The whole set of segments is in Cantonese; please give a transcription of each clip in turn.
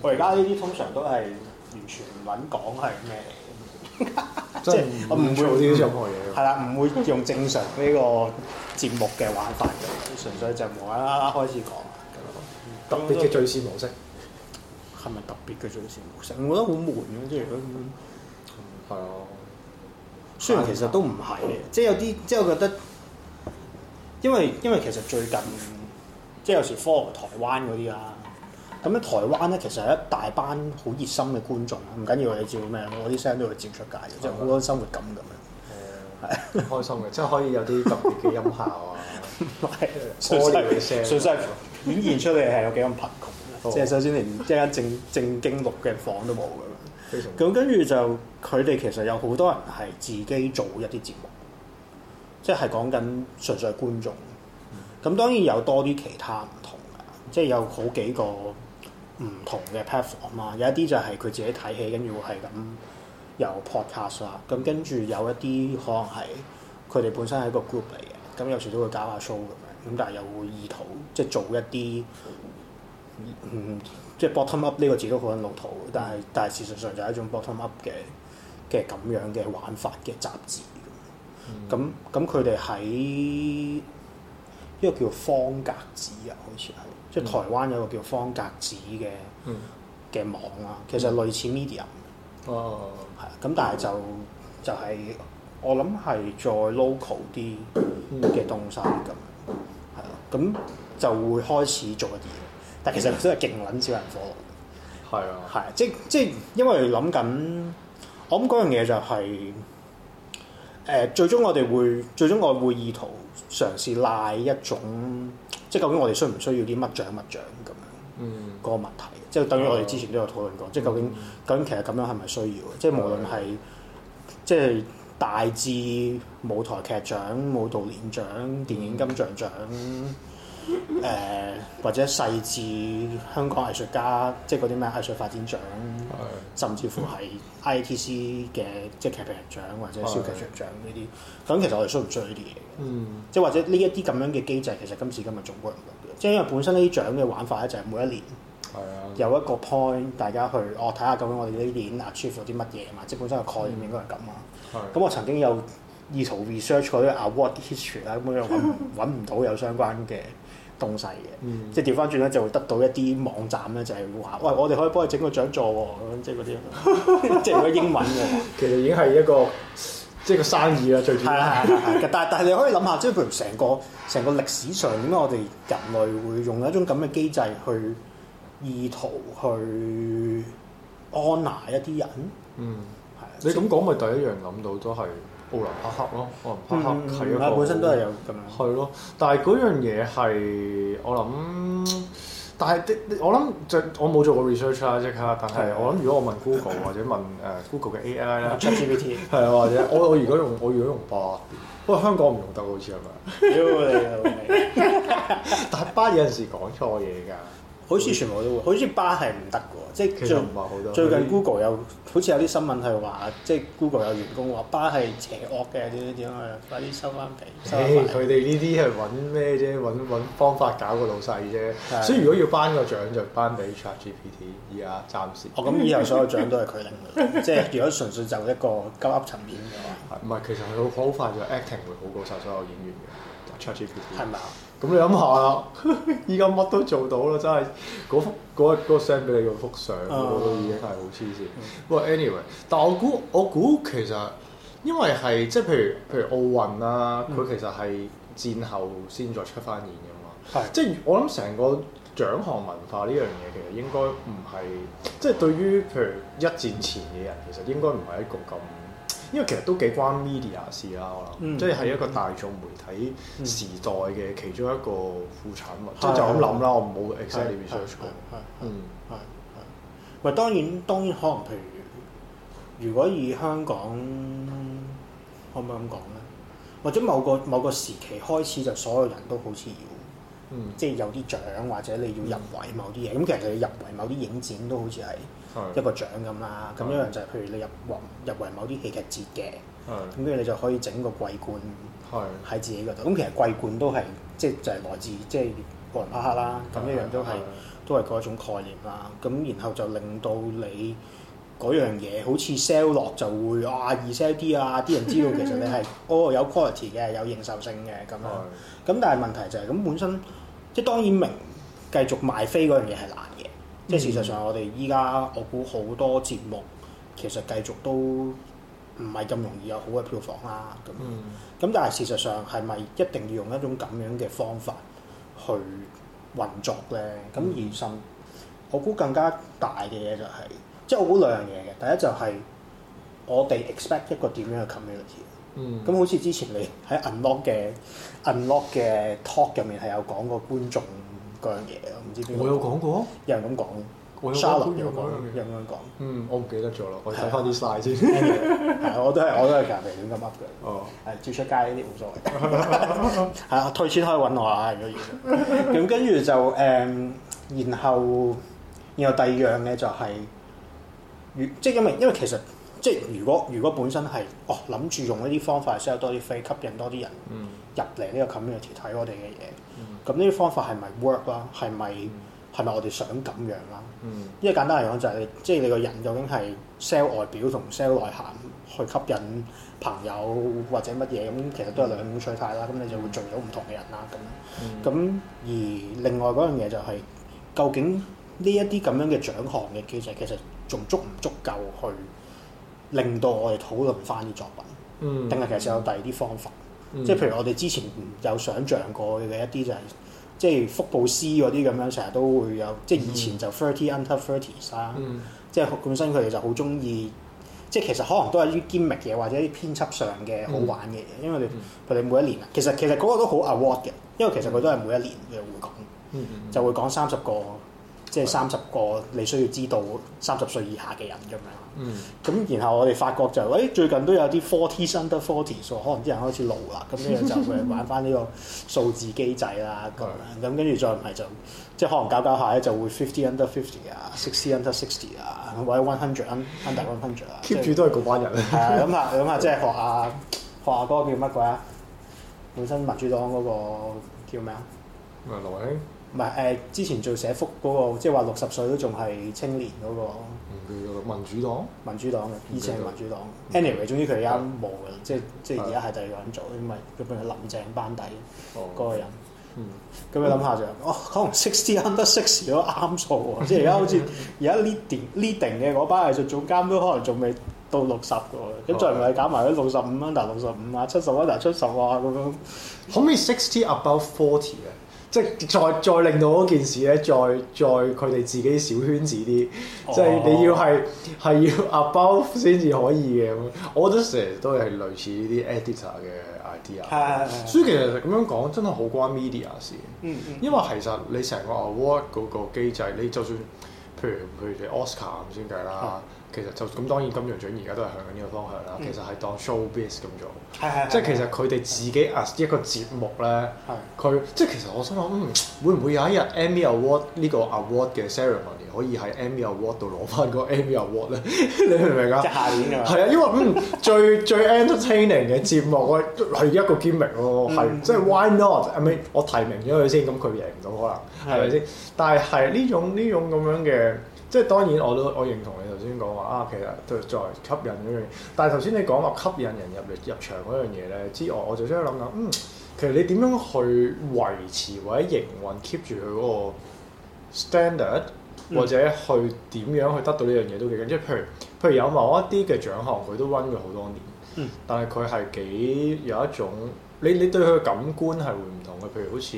我而家呢啲通常都係完全唔撚講係咩嚟嘅， 即係我唔會做啲任何嘢。 係啦，唔會用正常呢個節目嘅玩法嘅，純粹就無啦啦開始講。 特別嘅敘事模式係咪特別嘅敘事模式？我覺得好悶嘅，即係如果係啊。 雖然其實都唔係嘅，即係有啲即係我覺得，因為其實最近即係有時 follow 台灣嗰啲啦，咁咧台灣咧其實係一大班好熱心嘅觀眾，唔緊要你照咩，我啲聲都會照出街嘅，即係好多生活感咁樣。係開心嘅，即係可以有啲特別嘅音效啊， 係純粹顯現出嚟係有幾咁貧窮，即係首先連一間正經錄嘅房都冇㗎。咁跟住就佢哋其實有好多人係自己做一啲節目，即係講緊純粹係觀眾。咁當然有多啲其他唔同嘅，即係有好幾個唔同嘅 platform 啊。有一啲就係佢自己睇戲，跟住會係咁有 podcast 啦。咁跟住有一啲可能係佢哋本身係一個 group 嚟嘅，咁有時都會搞下 show 咁樣。咁但係又會意圖即係做一啲即係 bottom up 呢個字都好撚老土，但係事實上就係一種 bottom up 嘅咁樣嘅玩法嘅雜誌。咁佢哋喺一個叫方格子啊，好似係即係台灣有個叫方格子嘅網啊，其實類似 Medium。 哦， 係咁，但係就係我諗係再 local 啲嘅東西咁，係咯，咁就會開始做一啲嘢。但其實都係勁撚少人 follow。 係啊， 係即因為諗緊，我諗嗰樣嘢就係、最終我會意圖嘗試賴一種，即係究竟我哋需唔需要啲乜獎咁樣嗰個問題。即係等於我哋之前都有討論過，即係究竟其實咁樣係咪需要嘅？即係無論係即係大至舞台劇獎、舞蹈年獎、電影金像獎。或者細至香港藝術家，即係嗰啲咩藝術發展獎，甚至乎係 IATC 嘅即係劇評人獎或者小劇場獎呢啲，咁其實我哋需唔需要呢啲嘢？即係或者呢一啲咁樣嘅機制，其實今時今日仲 work 唔 work 嘅？即係因為本身呢啲獎嘅玩法咧，就係每一年有一個 point，大家去睇下究竟我哋呢年 achieve 咗啲乜嘢嘛，即係本身個概念應該係咁啊。咁我曾經有意圖 research 過啲 award history 啦，咁樣揾唔到有相關嘅東西嘅，即係調翻轉咧就會得到一啲網站咧就係話，喂，我哋可以幫你整個獎座喎，咁即係嗰啲，即係嗰啲英文嘅。 其實已經係一個即係個生意啦，最主要。 係，但係你可以諗下，即係譬如成個歷史上點解我哋人類會用一種咁嘅機制去意圖去安拿一啲人？ 你咁講咪第一樣諗到都係奧林匹克咯，奧林匹克係一個本身都係有咁樣。 係咯，但係嗰樣嘢係我諗，但係我諗我冇做過 research 啦，即刻。但係我諗，如果我問 Google 或者問Google 嘅 AI 啦 ，ChatGPT 係啊，或者我如果用巴，不過香港唔用得好似係咪？ 屌你！ 但係巴有陣時講錯嘢㗎。 好似全部都會，好似巴係唔得嘅喎，即係其實唔係好多。 最近 Google 有好似有啲新聞係話，即係 Google 有員工話巴係邪惡嘅，點啊，快啲收翻皮。 佢哋呢啲係揾咩啫？揾方法搞個老細啫。所以如果要頒個獎就頒俾 ChatGPT，而家暫時。 咁以後所有獎都係佢領嘅，即係如果純粹就一個鳩噏層面嘅話。 唔係，其實佢好快就 acting 會好過晒所有演員嘅 ChatGPT。 係咪啊？ 咁你諗下啦，依家乜都做到啦，真係嗰個 send 俾你嗰幅相，我都已經係好黐線。不過 anyway，但我估其實因為係即係譬如奧運啦，佢其實係戰後先再出翻現㗎嘛。即係我諗成個獎項文化呢樣嘢其實應該唔係即係對於譬如一戰前嘅人，其實應該唔係一個咁。因為其實都幾關 media 事啦，我諗，即係係一個大眾媒體時代嘅其中一個副產物，即係就咁諗啦，我冇 exactly research 過。 咪當然可能譬如果以香港可唔可以咁講咧？或者某個時期開始就所有人都好似要，即係有啲獎或者你要入圍某啲嘢，咁其實你入圍某啲影展都好似係一個獎咁啦，咁一樣就係譬如你入圍某啲戲劇節嘅，咁跟住你就可以整個季冠喺自己嗰度。咁其實季冠都係即係就係來自即係奧林匹克啦，咁一樣都係都係嗰一種概念啦。咁然後就令到你嗰樣嘢好似 sell 落就會易 sell 啲啊，啲人知道其實你係有 quality 嘅，有認受性嘅咁樣。咁但係問題就係咁本身，即係當然明繼續賣飛嗰樣嘢係難嘅。即係事實上，我哋依家我估好多節目其實繼續都唔係咁容易有好嘅票房啦。咁但係事實上係咪一定要用一種咁樣嘅方法去運作咧？咁而甚，我估更加大嘅嘢就係、即係我估兩樣嘢嘅。第一就係我哋 expect 一個點樣嘅 community。咁好似之前你喺 unlock 嘅 talk 入面係有講過觀眾嗰樣嘢，我唔知邊個。 我有講過， 有人咁講。Charlotte 有咁樣講。 我唔記得咗啦，我睇翻啲 slide 先。 係，我都係隔離亂咁 up 嘅。 哦， 係照出街呢啲冇所謂。係啊，退錢可以揾我啊，如果要。咁跟住就然後第二樣咧就係、即係因為其實即係如果本身係諗住用一啲方法 sell 多啲飛，吸引多啲人入嚟呢個 community 睇我哋嘅嘢，咁呢啲方法係咪 work 啦？係咪我哋想咁樣啦？因為簡單嚟講就係即係你個人究竟係 sell 外表同 sell 內涵去吸引朋友或者乜嘢咁，其實都係兩種取態啦。咁你就會聚到唔同嘅人啦。咁而另外嗰樣嘢就係、究竟呢一啲咁樣嘅獎項嘅機制，其實仲足唔足夠去令到我哋討論翻啲作品？定係其實有第二啲方法？即係譬如我哋之前有想像過嘅一啲就係、即係福布斯嗰啲咁樣，成日都會有，即係以前就 30 under 30s 啦，即係本身佢哋就好中意，即係其實可能都係啲 gimmick 嘅或者啲編輯上嘅好玩嘅嘢，因為佢哋每一年其實嗰個都好 award 嘅，因為其實佢都係每一年嘅會講，就會講30個，即係30個你需要知道30歲以下嘅人咁樣。咁然後我哋發覺就最近都有啲 40 under 40，可能啲人開始老啦，咁呢就會玩翻呢個數字機制啦咁樣，咁跟住再唔係就即係可能搞下咧就會50 under 50啊，60 under 60啊，或者100 under 100啊 ，keep 住都係嗰班人。 係啊，諗下即係學下嗰個叫乜鬼啊？本身民主黨嗰個叫咩啊？ 羅興。 唔係之前做社福嗰個，即係話60歲都仲係青年嗰個。 民主黨嘅， 以前係民主黨。anyway， 總之佢而家冇嘅，即係而家係第二個人做，因為佢本係林鄭班底嗰個人。咁你諗下就，可能60 under 60都啱數喎，即係而家好似而家 leading 嘅嗰班藝術總監都可能仲未到60嘅喎，咁再唔係搞埋啲65 under 65啊，70 under 70啊咁樣。 可唔可以60 above 40嘅？即係再令到嗰件事咧，再佢哋自己小圈子啲，即係你要係要 above 先至可以嘅咁。我覺得成日都係類似呢啲 editor 嘅 idea。所以其實咁樣講真係好關 media 事。因為其實你成個 award 嗰個機制，你就算譬如你 Oscar 咁先計啦。其實就咁當然金像獎而家都係向緊呢個方向啦。其實係當 showbiz 咁做，即係其實佢哋自己 as 一個節目咧，佢即係其實我心諗，會唔會有一日 Emmy Award 呢個 award 嘅 ceremony 可以喺 Emmy Award 度攞翻個 Emmy Award 咧？你明唔明啊？ 即係下年㗎。 係啊，因為最 entertaining 嘅節目係一個 gimmick 咯，係即係 why not？I mean 我提名咗佢先，咁佢贏唔到可能係咪先？但係呢種咁樣嘅。即係當然我認同你頭先講話其實都再吸引嗰樣嘢。但係頭先你講話吸引人入場嗰樣嘢咧之外，我就想諗緊，其實你點樣去維持或者營運 keep 住佢嗰個 standard，或者去點樣去得到呢樣嘢都幾緊。即係譬如有某一啲嘅獎項，佢都 run 咗好多年，但係佢係幾有一種你對佢嘅感官係會唔同嘅。譬如好似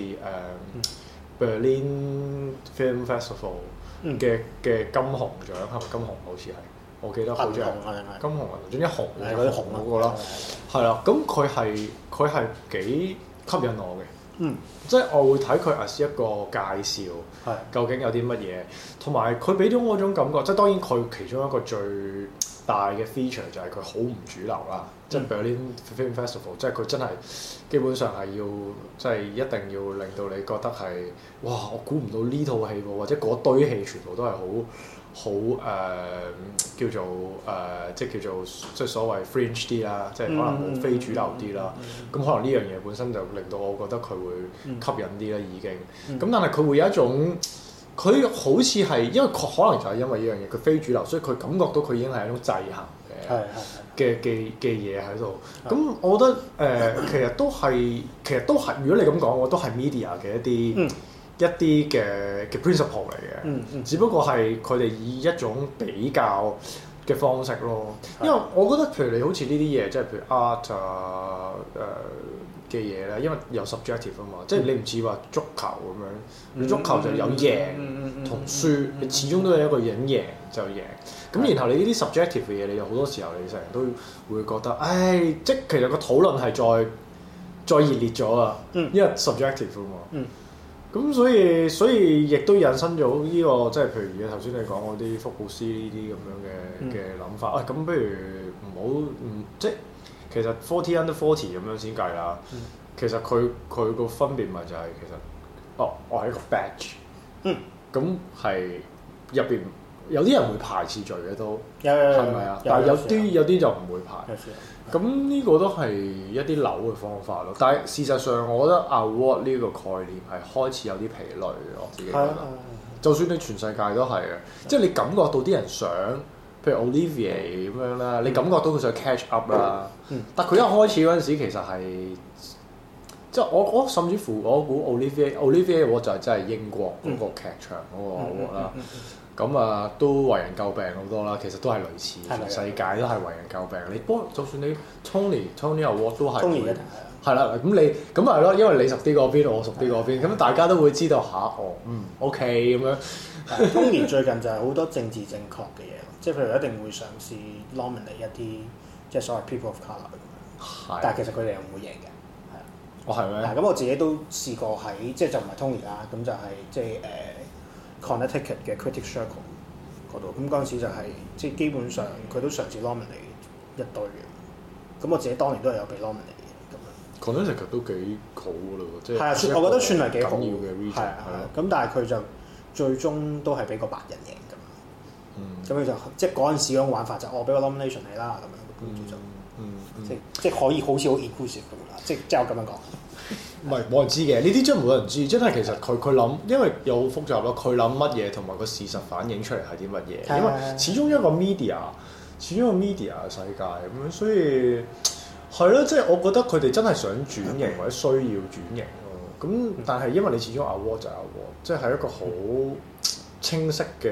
Berlin Film Festival。嘅金熊獎係咪金熊？好似係，我記得好似係金熊啊，總之紅係嗰啲紅嗰個啦，係啦。咁佢係幾吸引我嘅，即係我會睇佢as一個介紹，究竟有啲乜嘢，同埋佢俾咗我種感覺，即係當然佢其中一個最大嘅 feature 就係佢好唔主流啦，即係 Berlin Film Festival，即係佢真係基本上係要，即係一定要令到你覺得係，哇！我估唔到呢套戲喎，或者嗰堆戲全部都係好叫做即係叫做即係所謂 fringe 啲啦，即係可能好非主流啲啦。咁可能呢樣嘢本身就令到我覺得佢會吸引啲啦，已經。咁但係佢會有一種佢好似係因為可能就係因為呢樣嘢，佢非主流，所以佢感覺到佢已經係一種制衡嘅嘢喺度。咁我覺得其實都係，如果你咁講，我都係 media 嘅一啲嘅 principle 嚟嘅。只不過係佢哋以一種比較嘅方式咯。因為我覺得譬如你好似呢啲嘢，即係譬如 art 嘅嘢咧，因為有 subjective 啊嘛，即係你唔似話足球咁樣，你足球就有贏同輸，你始終都有一個人贏就贏。咁然後你呢啲 subjective 嘅嘢，你有好多時候你成日都會覺得，唉，即係其實個討論係再熱烈咗啊，因為 subjective 啊嘛。咁所以亦都引申咗呢個，即係譬如而家頭先你講嗰啲福布斯呢啲咁樣嘅諗法。咁不如唔好即係。其實 40 under 40咁樣先計啦。其實佢個分別咪就係其實，我係一個 batch。咁係入邊有啲人會排次序嘅都，係咪啊？但係有啲就唔會排。咁呢個都係一啲流嘅方法咯。但係事實上，我覺得 award 呢個概念係開始有啲疲累嘅。我自己覺得，就算你全世界都係嘅，即係你感覺到啲人想。譬如 Olivier 咁樣啦，你感覺到佢想 catch up 啦，但佢一開始嗰陣時其實係，即係我甚至乎我估 Olivier 我就係真係英國嗰個劇場嗰個 award 啦，咁都為人詬病好多啦，其實都係類似，全世界都係為人詬病。你就算你 Tony award 都係，係啦，咁你咁係咯，因為你熟啲嗰邊，我熟啲嗰邊，咁大家都會知道OK 咁樣。 Tony 最近就係好多政治正確嘅嘢。即係譬如一定會嘗試 nominate 一啲即係所謂 people of colour 咁樣，但係其實佢哋又唔會贏嘅，係啊。 係咩？ 咁我自己都試過喺即係就唔係 Tony 啦，咁就係即係Connecticut 嘅 Critics Circle 嗰度，咁嗰陣時就係即係基本上佢都嘗試 nominate 一堆嘅，咁我自己當年都係有被 nominate 嘅咁樣。 Connecticut 都幾好㗎咯，即係係啊，我覺得算係幾好嘅 region。係咁但係佢就最終都係俾個白人贏。咁佢就即係嗰陣時嗰種玩法就我俾個 nomination 你啦咁樣，即係可以好似好 inclusive 咁啦，即係我咁樣講。 唔係冇人知嘅，呢啲真係冇人知，真係其實佢諗，因為又好複雜咯。佢諗乜嘢同埋個事實反映出嚟係啲乜嘢？因為始終一個 media 嘅世界咁樣，所以係咯，即係我覺得佢哋真係想轉型或者需要轉型咯。咁但係因為你始終 award 就 award，即係一個好清晰嘅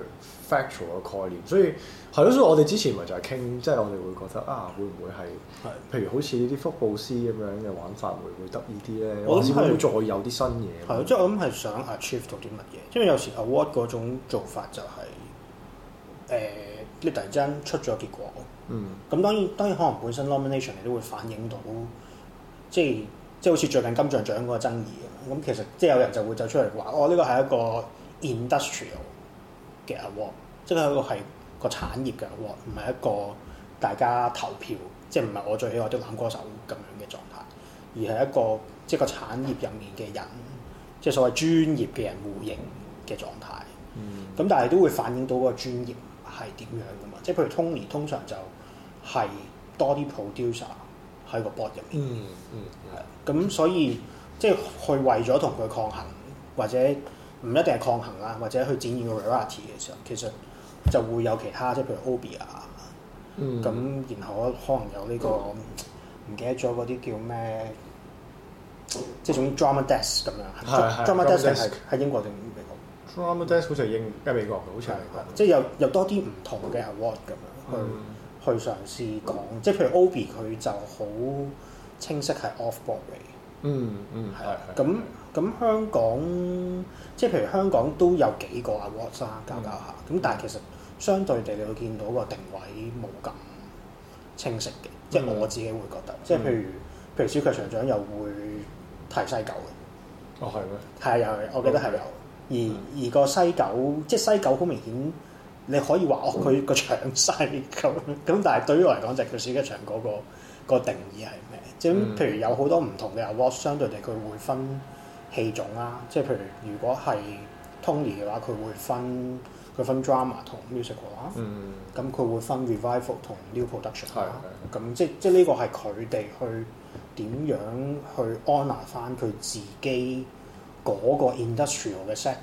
factual 嘅概念，所以係咯，所以我哋之前咪就係傾，即係我哋會覺得會唔會係，譬如好似呢啲福布斯咁樣嘅玩法，會唔會得意啲咧？我諗會再有啲新嘢。係咯， 即係我諗係想 achieve 到啲乜嘢？因為有時 award 嗰種做法就係你突然之間出咗結果，咁當然可能本身 nomination 你都會反映到，即係好似最近金像獎嗰個爭議咁，其實即係有人就會走出嚟話，呢個係一個 industrial 嘅 award， 即係一個係個產業嘅 award， 唔係一個大家投票，即係唔係我最喜愛的男歌手咁樣嘅狀態，而係一個即係個產業入面嘅人，即係所謂專業嘅人互認嘅狀態。咁但係都會反映到嗰個專業係點樣噶嘛？即係譬如 Tony 通常就係多啲 producer 喺個 board 入面，咁所以即係去為咗同佢抗衡，或者唔一定係抗衡啦，或者去展現個 variety 嘅時候，其實就會有其他，即係譬如 Obie 咁，然後可能有呢個唔記得咗嗰啲叫咩，即係種 drama desk 咁樣。drama desk 係英國定美國 ？drama desk 好似係美國嘅，好似係美國。 即係有多啲唔同嘅 award 咁樣去嘗試講，即係譬如 Obie 佢就好清晰係 off Broadway。係。咁香港即係譬如香港都有幾個 awards 啦，搞下。咁但係其實相對地，你會見到個定位冇咁清晰嘅，即係我自己會覺得，即係譬如小劇場獎又會提西九嘅。 係咩？ 係有，我記得係有。而個西九，即係西九好明顯，你可以話佢個場細咁，但係對於我嚟講就係佢小劇場嗰個定義係咩？即係譬如有好多唔同嘅 award， 相對地佢會分戲種啦，即係譬如如果係 Tony 嘅話，佢分 drama 同 musical 啦，咁佢會分 revival 同 new production 啦，咁即係呢個係佢哋去點樣去 honour 翻佢自己嗰個 industrial 嘅 sector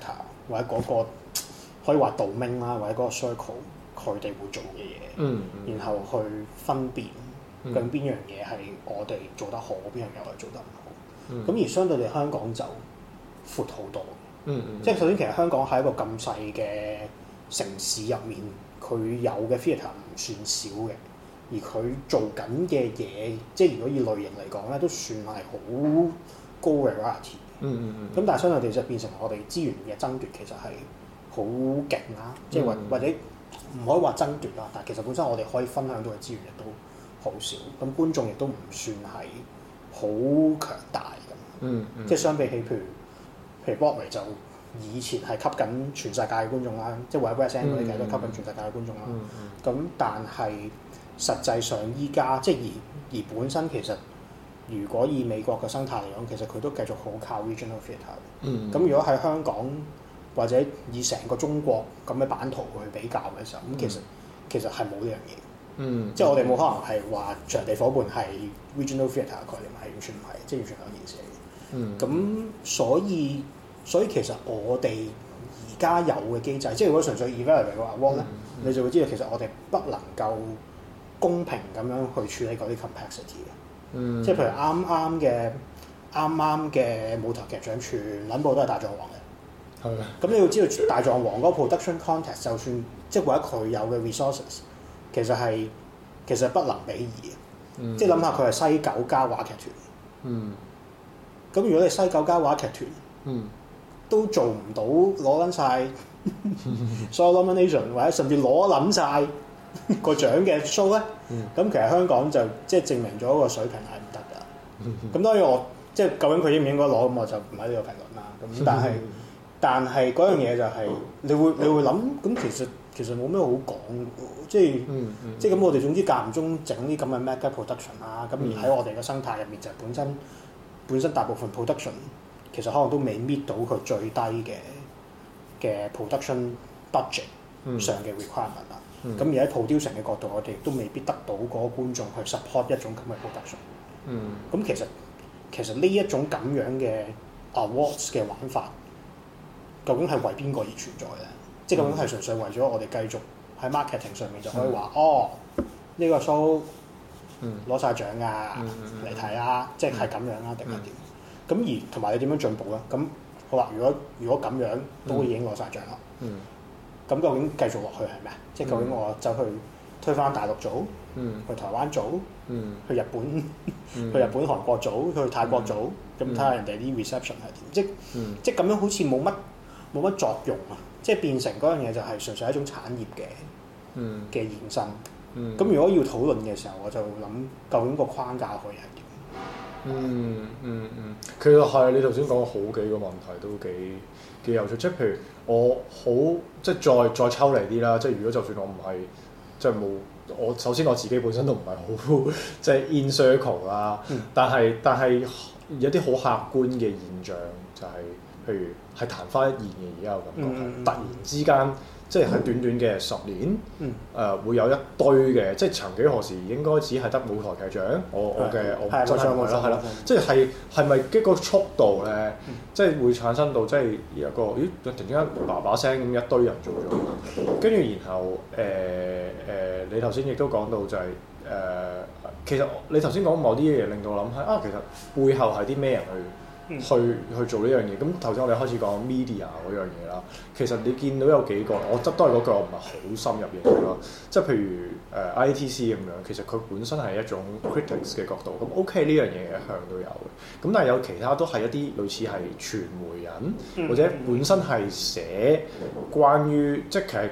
或者嗰個可以話 domain 啦，或者嗰個 circle 佢哋會做嘅嘢，然後去分辨究竟邊樣嘢係我哋做得好，邊樣嘢我哋做得唔好。咁而相對地香港就闊好多。即係首先其實香港喺一個咁細嘅城市入面，佢有嘅 theatre 唔算少嘅，而佢做緊嘅嘢，即係如果以類型嚟講咧，都算係好高 variety。咁但係相對地就變成我哋資源嘅爭奪其實係好勁啦，即係或者唔可以話爭奪啦，但係其實本身我哋可以分享到嘅資源亦都好少，咁觀眾亦都唔算係好強大咁。即係相比起譬如 Broadway 就以前係吸緊全世界嘅觀眾啦，即係或者 West End 嗰啲其實都吸緊全世界嘅觀眾啦。咁但係實際上依家即係而本身其實如果以美國嘅生態嚟講，其實佢都繼續好靠 regional theatre。咁如果喺香港或者以成個中國咁嘅版圖去比較嘅時候，咁其實係冇呢樣嘢。即係我哋冇可能係話場地伙伴係 regional theatre 嘅概念，係完全唔係，即係完全兩件事嚟嘅。咁所以其實我哋而家有嘅機制，即係如果純粹 evaluate 個 award 咧，你就會知道其實我哋不能夠公平咁樣去處理嗰啲 complexity 嘅。即係譬如啱啱嘅舞台劇獎全撚部都係大狀王嘅。咁你要知道大狀王嗰個 production context， 就算即係或者佢有嘅 resources， 其實不能比擬嘅。即係諗下佢係西九加話劇團。咁如果你西九加話劇團，都做唔到攞緊晒所有 nomination， 或者甚至攞撚晒個獎嘅 show 咧，咁其實香港就即係證明咗個水平係唔得㗎。咁當然我即係究竟佢應唔應該攞，咁我就唔喺呢度評論啦。咁但係嗰樣嘢就係你會諗，咁其實冇咩好講嘅，即係咁我哋總之間唔中整啲咁嘅 mega production 啦。咁而喺我哋嘅生態入面就本身大部分 production 其實可能都未 meet 到佢最低嘅 production budget 上嘅 requirement 啦。咁而喺 producing 嘅角度，我哋都未必得到嗰個觀眾去 support 一種咁嘅 production。咁其實呢一種咁樣嘅 awards 嘅玩法，究竟係為邊個而存在咧？即係究竟係純粹為咗我哋繼續喺 marketing 上面就可以話呢個 show 攞晒獎㗎，嚟睇啊！即係咁樣啦，定係點？咁而同埋你點樣進步咧？咁好啦，如果咁樣都已經攞晒獎啦，咁究竟繼續落去係咩？即係究竟我走去推翻大陸組，去台灣組，去日本、韓國組，去泰國組，咁睇下人哋啲 reception 係點？即係咁樣好似冇乜作用啊！即係變成嗰樣嘢就係純粹係一種產業嘅延伸。咁如果要討論嘅時候，我就諗究竟個框架可以係點？ 其實係你頭先講好幾個問題都幾有趣，即係譬如我好即係再抽離啲啦，即係如果就算我唔係即係冇我首先我自己本身都唔係好即係 in circle 啦，但係有啲好客觀嘅現象就係譬如係曇花一現嘅而家有感覺係突然之間。即係喺短短嘅10年，會有一堆嘅，即係曾幾何時應該只係得舞台劇獎，我真係啦，即係咪一個速度咧，即係會產生到即係有個突然之間叭聲咁一堆人做咗，跟住然後你頭先亦都講到就係其實你頭先講某啲嘢令到我諗係其實背後係啲咩人去做呢樣嘢，咁頭先我哋開始講 media 嗰樣嘢啦。其實你見到有幾個，我都係嗰句，我唔係好深入嘅嘢啦。即係譬如ITC 咁樣，其實佢本身係一種 critics 嘅角度，咁 OK 呢樣嘢一向都有嘅。咁但係有其他都係一啲類似係傳媒人，或者本身係寫關於即係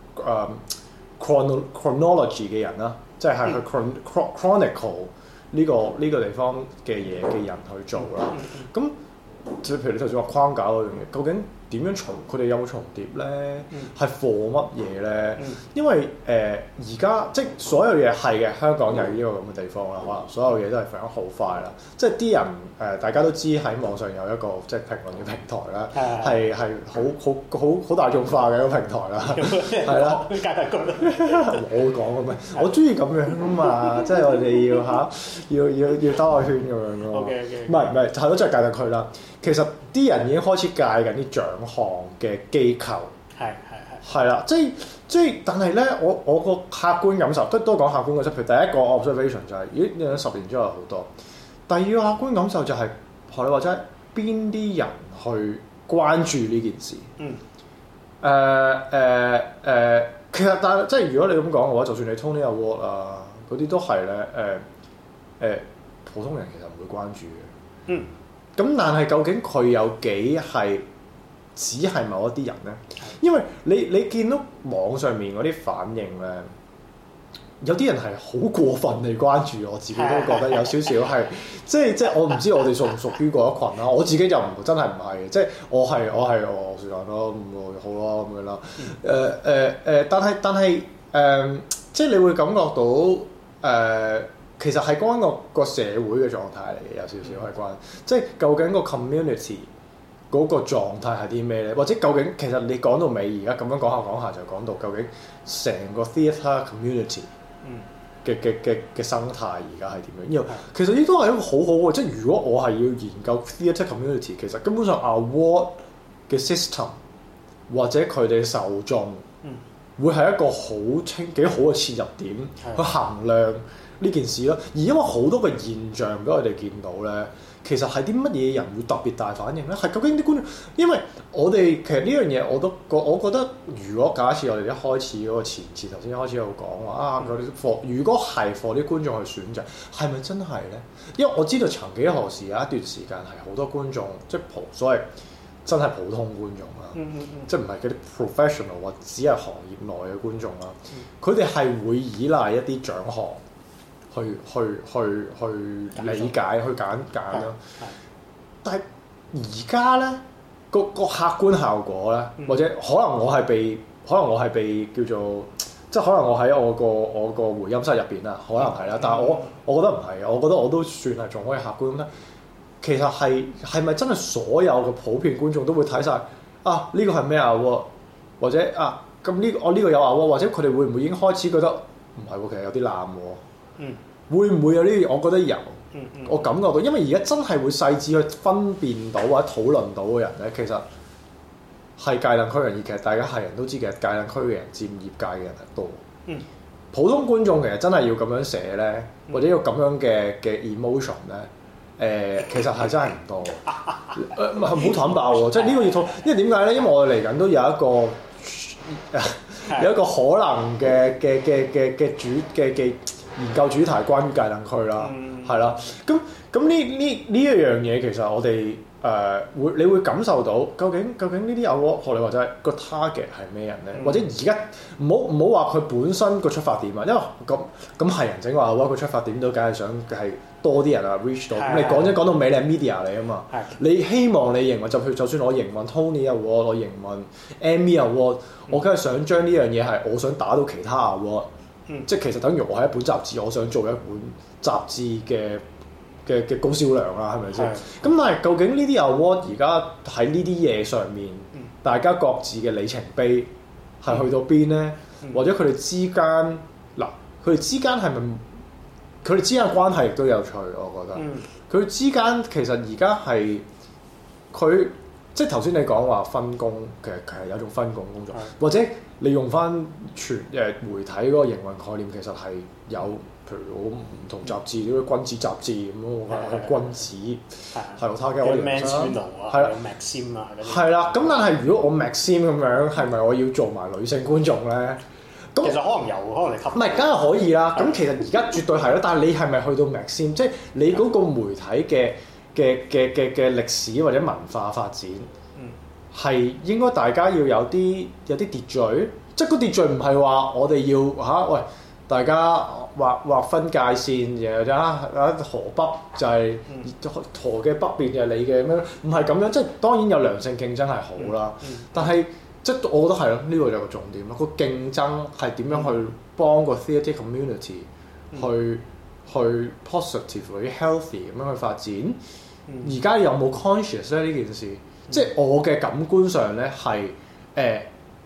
chronology 嘅人啦，即係去 chronicle。呢個地方嘅嘢嘅人去做啦，咁即係譬如你頭先話框架嗰樣嘢，究竟點樣佢哋有冇重疊咧？係 for 乜嘢咧？因為而家即係所有嘢係嘅，香港就係呢個咁嘅地方啦。可能所有嘢都係發展好快啦。即係啲人大家都知喺網上有一個即係評論嘅平台啦，係好大眾化嘅一個平台啦，係啦。我會講嘅咩？我中意咁樣啊嘛，即係我哋要兜個圈咁樣咯。唔係係咯，即係界定佢啦。其實啲人已經開始戒緊啲獎項嘅機構。係啦，即係，但係咧，我個客觀感受都講客觀嘅，即係譬如第一個 observation 就係、咦，你10年之後好多。第二個客觀感受就係、學你話齋，邊啲人去關注呢件事？其實但係即係如果你咁講嘅話，就算你 Tony Award 啊嗰啲都係咧，普通人其實唔會關注嘅。咁但係究竟佢有幾係？只係某一啲人咧，因為你見到網上面嗰啲反應咧，有啲人係好過分地關注，我自己都覺得有少少係，即係我唔知我哋屬唔屬於嗰一群啦。我自己就真係唔係，即係我係是但咯，好咯咁樣啦。但係即係你會感覺到其實係關個社會嘅狀態嚟嘅，有少少係關，即係究竟個 community。嗰個狀態係啲咩咧？或者究竟其實你講到尾，而家咁樣講下就講到究竟成個 theatre community 嘅生態而家係點樣？因為其實呢都係一個好好嘅，即係如果我係要研究 theatre community，其實根本上 award 嘅 system 或者佢哋受眾會係一個幾好嘅切入點去衡量呢件事咯。而因為好多嘅現象俾我哋見到咧。其實係啲乜嘢人會特別大反應咧？係究竟啲觀眾，因為我哋其實呢樣嘢我覺得，如果假設我哋一開始嗰個前設頭先一開始有講話啊，如果係 for 啲觀眾去選擇，係咪真係咧？因為我知道曾幾何時有一段時間係好多觀眾，即係所謂真係普通觀眾啦，即係唔係嗰啲 professional 或者只係行業內嘅觀眾啦，佢哋係會依賴一啲獎項。去理解、去揀咯。但係而家咧個客觀效果咧，或者可能我係被叫做，即係可能我喺我個回音室入邊啦，可能係啦。但係我覺得唔係，我覺得我都算係仲可以客觀咁咧。其實係咪真係所有嘅普遍觀眾都會睇晒啊？呢個係咩啊？或者啊咁呢個有啊？或者佢哋會唔會已經開始覺得唔係喎？其實有啲爛喎。會唔會有呢啲？我覺得有，我感覺到，因為而家真係會細緻去分辨到或者討論到嘅人咧，其實係界定區人，而其實大家係人都知，其實界定區嘅人佔業界嘅人係多。普通觀眾其實真係要咁樣寫咧，或者要咁樣嘅 emotion 咧，其實係真係唔多。唔係好坦白喎，即係呢個要討，因為點解咧？因為我哋嚟緊都有一個可能嘅研究主題關於界定區啦，係啦，咁呢一樣嘢其實我哋你會感受到究竟呢啲award學你話齋個 target 係咩人咧？或者而家唔好話佢本身個出發點啊，因為咁係人整話award個出發點都梗係想係多啲人啊 reach 到。咁你講到尾你係 media 嚟啊嘛，你希望你營運就算我營運 Tony Award，我營運 Emmy Award，我梗係想將呢樣嘢係我想打到其他award。即係其實等於我係一本雜誌，我想做一本雜誌嘅高銷量啦，係咪先？咁但係究竟呢啲 award 而家喺呢啲嘢上面，大家各自嘅里程碑係去到邊咧？或者佢哋之間佢哋之間係咪佢哋之間嘅關係亦都有趣？我覺得佢哋之間其實而家係佢即係頭先你講話分工，其實有一種分工工作，或者你用翻媒體嗰個營運概念，其實係有，譬如我唔同雜誌，啲君子雜誌咁咯，君子係咯，他嘅我哋係啦 Maxim 啊， 係啦。咁但係如果我 Maxim 咁樣，係咪我要做埋女性觀眾咧？ 咁其實可能有，可能你吸唔係，梗係可以啦。咁其實而家絕對係啦，但係你係咪去到 Maxim？即係你嗰個媒體嘅歷史或者文化發展，係應該大家要有啲秩序，即係個秩序唔係話我哋要喂大家劃分界線，然後河北就係河嘅北邊就係你嘅咁樣，唔係咁樣。即係當然有良性競爭係好啦，但係即係我覺得係咯，呢個就係個重點咯。個競爭係點樣去幫個 theatre community 去 positively healthy 咁樣去發展？而家有冇 conscious 咧呢件事？即係我嘅感官上咧係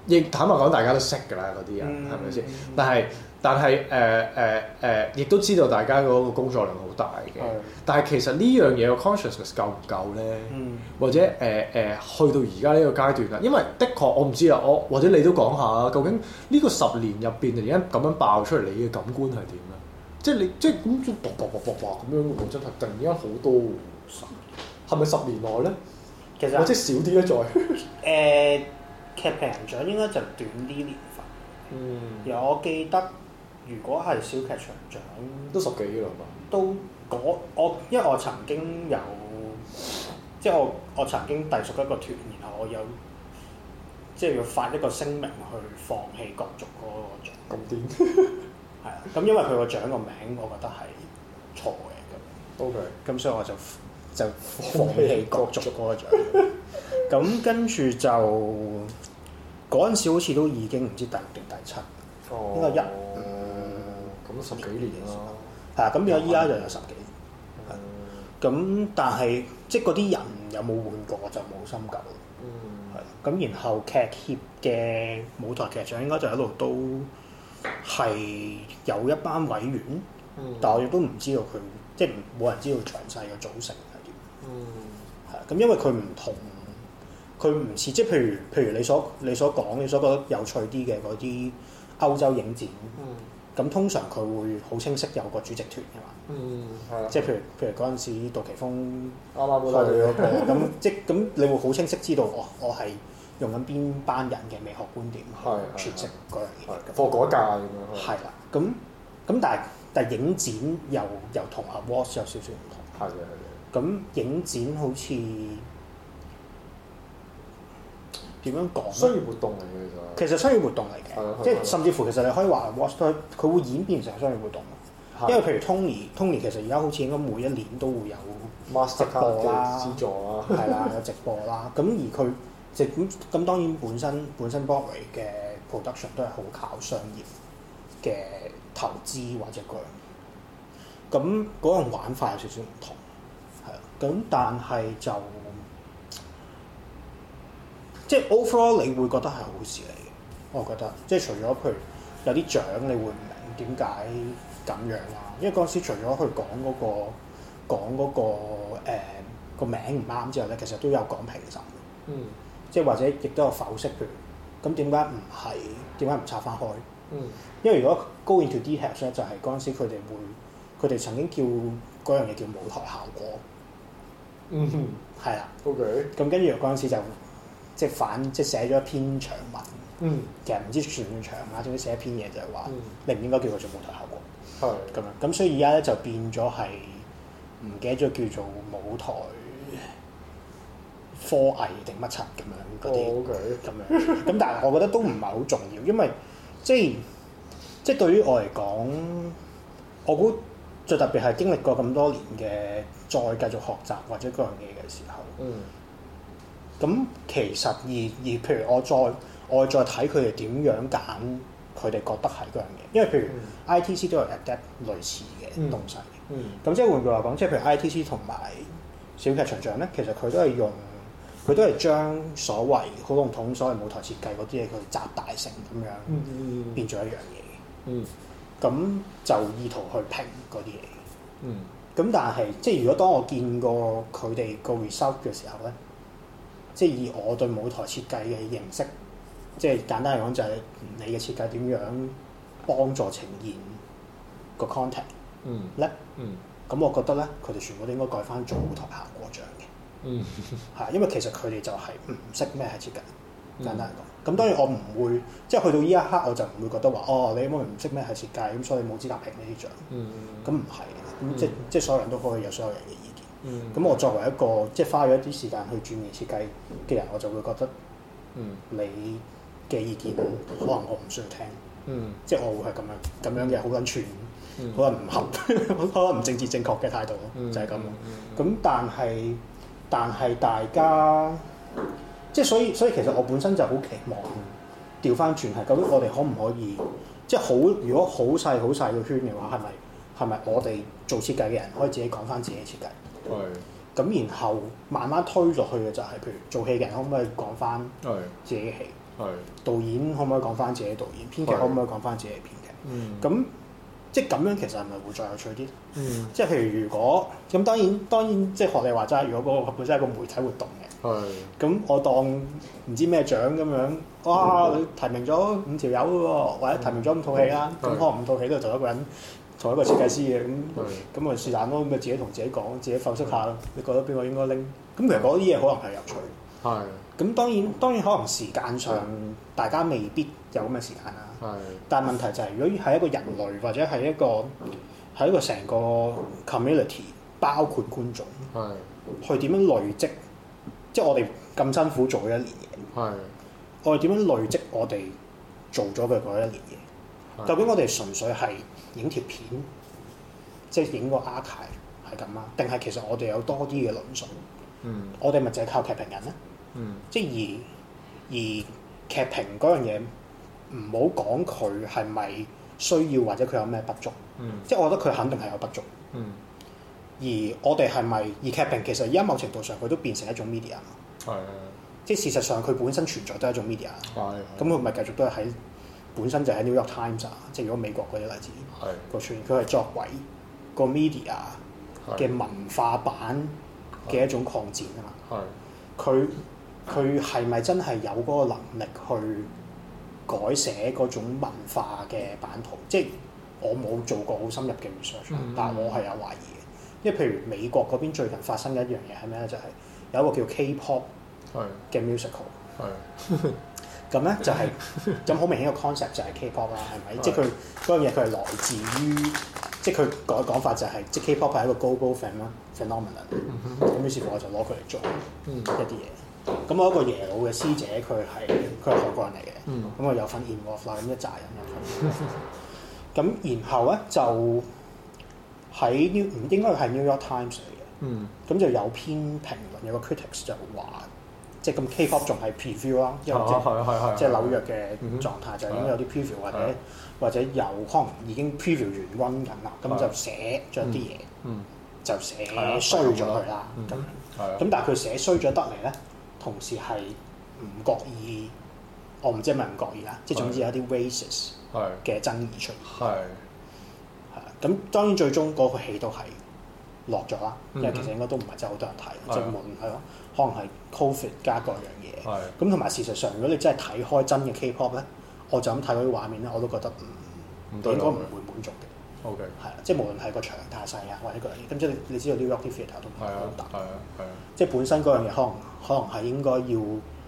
亦坦白講，大家都識㗎啦，嗰啲人係咪先？但係亦都知道大家嗰個工作量好大嘅。但係其實呢樣嘢個 consciousness 夠唔夠咧？或者去到而家呢個階段啦，因為的確我唔知啊，或者你都講下啊，究竟呢個10年入邊突然間咁樣爆出嚟，你嘅感官係點咧？即係你即係咁咁樣喎，真係突然間好多喎，係咪10年內咧？ 其實或者少啲咧再劇評人獎應該就短啲年份。而我記得，如果係小劇場獎， 都10幾啦嘛。 都因為我曾經有，即係我曾經隸屬一個團，然後我有即係要發一個聲明去放棄角逐嗰個獎。 咁癲？ 係啊，咁因為佢個獎個名，我覺得係錯嘅咁。 OK。咁所以我就放棄角逐嗰個獎。咁跟住就嗰陣時好似都已經唔知第6定第7，應該咁10幾年啦。 係啊，咁變咗依家就有10幾年。咁但係即係嗰啲人有冇換過我就冇深究。係。咁然後劇協嘅舞台劇獎應該就一路都係有一班委員，但我亦都唔知道佢即係冇人知道詳細嘅組成係點。係。咁因為佢唔同。佢唔似即係譬如你所講你所覺得有趣啲嘅嗰啲歐洲影展，咁通常佢會好清晰有個主席團㗎嘛。即係譬如嗰陣時杜琪峰啱啱開嗰個咁，即係咁你會好清晰知道我係用緊邊班人嘅美學觀點去詮釋嗰樣嘢。 課嗰屆咁樣。 係啦，咁但係影展又同 Awards 有少少唔同。係嘅。咁影展好似點樣講？ 商業活動嚟嘅其實商業活動嚟嘅，即係甚至乎其實你可以話 Watch 佢會演變成商業活動。因為譬如 Tony 其實而家好似應該每一年都會有直播啦、 資助啦， 係啦有直播啦。咁而佢咁當然本身 Broadway 嘅 production 都係好靠商業嘅投資或者嗰樣。咁嗰種玩法有少少唔同，係啊。咁但係就即係 overall 你會覺得係好事嚟嘅，我覺得即係除咗譬如有啲獎你會唔明點解咁樣啦，因為嗰陣時除咗佢講嗰個名唔啱之後咧，其實都有講評審，即係或者亦都有剖析，譬如咁點解唔拆翻開？因為如果 go into details 咧，就係嗰陣時佢哋曾經叫嗰樣嘢叫舞台效果，係啦 ，OK， 咁跟住嗰陣時就。即係寫咗一篇長文，其實唔知算唔算長啦，總之寫一篇嘢就係話，你唔應該叫佢做舞台效果，咁樣，咁所以而家咧就變咗係唔記得咗叫做舞台科藝定乜柒咁樣嗰啲，咁樣，咁但係我覺得都唔係好重要，因為即係對於我嚟講，我估最特別係經歷過咁多年嘅，再繼續學習或者嗰樣嘢嘅時候。咁其實而譬如我再睇佢哋點樣揀，佢哋覺得係嗰樣嘢，因為譬如 ITC 都有 adapt 類似嘅東西。咁即係換句話講，即係譬如 ITC 同埋小劇場獎咧，其實佢都係將所謂好籠統所謂舞台設計嗰啲嘢，佢集大成咁樣變咗一樣嘢。咁就意圖去評嗰啲嘢。咁但係即係如果當我見過佢哋個 result 嘅時候咧。即係以我對舞台設計嘅認識，即係簡單嚟講就係你嘅設計點樣幫助呈現個 content 咧。咁我覺得咧，佢哋全部都應該改翻做舞台效果獎嘅。係因為其實佢哋就係唔識咩係設計。簡單嚟講，咁當然我唔會即係去到呢一刻我就唔會覺得話你因為唔識咩係設計，咁所以冇資格評呢啲獎。咁唔係嘅，咁即係所有人都可以有所有人嘅意見。咁我作為一個即係花咗一啲時間去鑽研設計嘅人，我就會覺得你嘅意見可能我唔需要聽，即係我會係咁樣嘅好撚串，好撚唔合，好撚唔政治正確嘅態度咯，就係咁咯。咁但係大家即係所以其實我本身就好期望調翻轉係究竟我哋可唔可以即係如果好細個圈嘅話，係咪我哋做設計嘅人可以自己講翻自己嘅設計？咁然後慢慢推落去嘅就係，譬如做戲嘅人可唔可以講翻自己嘅戲？ 導演可唔可以講翻自己導演，編劇可唔可以講翻自己編劇？咁即係咁樣其實係咪會再有趣啲？即係譬如果咁當然即係學你話齋，如果嗰個本身係個媒體活動嘅，咁我當唔知咩獎咁樣，哇！你提名咗5條友喎，或者提名咗5套戲啦，咁可能5套戲都係同一個人。同一個設計師嘅咁咪是但咯，咪自己同自己講，自己剖析下咯。你覺得邊個應該拎？咁其實嗰啲嘢可能係有趣。係。咁當然可能時間上大家未必有咁嘅時間啦。但係問題就係，如果係一個人類或者係一個成個 community， 包括觀眾，去點樣累積？即係我哋咁辛苦做咗1年嘢。我哋點樣累積我哋做咗嘅嗰1年嘢？究竟我哋純粹係影條片，即係影個 archive 係咁啊？定係其實我哋有多啲嘅論述？我哋咪淨係靠劇評人咧？即係而劇評嗰樣嘢，唔好講佢係咪需要或者佢有咩不足？即係我覺得佢肯定係有不足。而我哋係咪？而劇評其實而家某程度上佢都變成一種 media 嘛。即係事實上佢本身存在都係一種 media。咁佢咪繼續都係喺。本身就喺 New York Times 啊，即係如果美國嗰啲例子個出現，佢係作為個 media 嘅文化版嘅一種擴展啊嘛。佢係咪真係有嗰個能力去改寫嗰種文化嘅版圖？即係我冇做過好深入嘅 research，但係我係有懷疑嘅。因為譬如美國嗰邊最近發生嘅一樣嘢係咩咧？就係有一個叫 K-pop 嘅 musical。咁咧就係咁好明顯個 concept 就係 K-pop 啦，係咪？即係佢嗰樣嘢佢係來自於，即係佢講法就係，即係 K-pop 係一個 global phenomenon。咁於是乎我就攞佢嚟做一啲嘢。咁我一個耶魯嘅師姐，佢係韓國人嚟嘅，咁我有份 involve 啦，咁一紮人有份。咁然後咧就喺應該係 New York Times 嚟嘅，咁就有篇評論，有個 critics 就話。即係咁 K-pop 仲係 preview 啦，因為即係紐約嘅狀態就已經有啲 preview 或者有可能已經 preview 完 run 緊啦，咁就寫咗啲嘢，就寫衰咗佢啦。咁但係佢寫衰咗得嚟咧，同時係唔覺意，我唔知係咪唔覺意啦，即係總之有啲 racist 嘅爭議出現。咁當然最終嗰個戲都係落咗啦，因為其實應該都唔係真係好多人睇，即係無論係咯。可能係 Covid 加各樣嘢，咁同埋事實上，如果你真係睇開真嘅 K-pop 咧，我就咁睇嗰啲畫面咧，我都覺得應該唔會滿足嘅。係啊，即係無論係個場太細啊，或者嗰樣嘢，咁即係你知道 New York 啲 theatre 都唔係好大，即係本身嗰樣嘢可能係應該要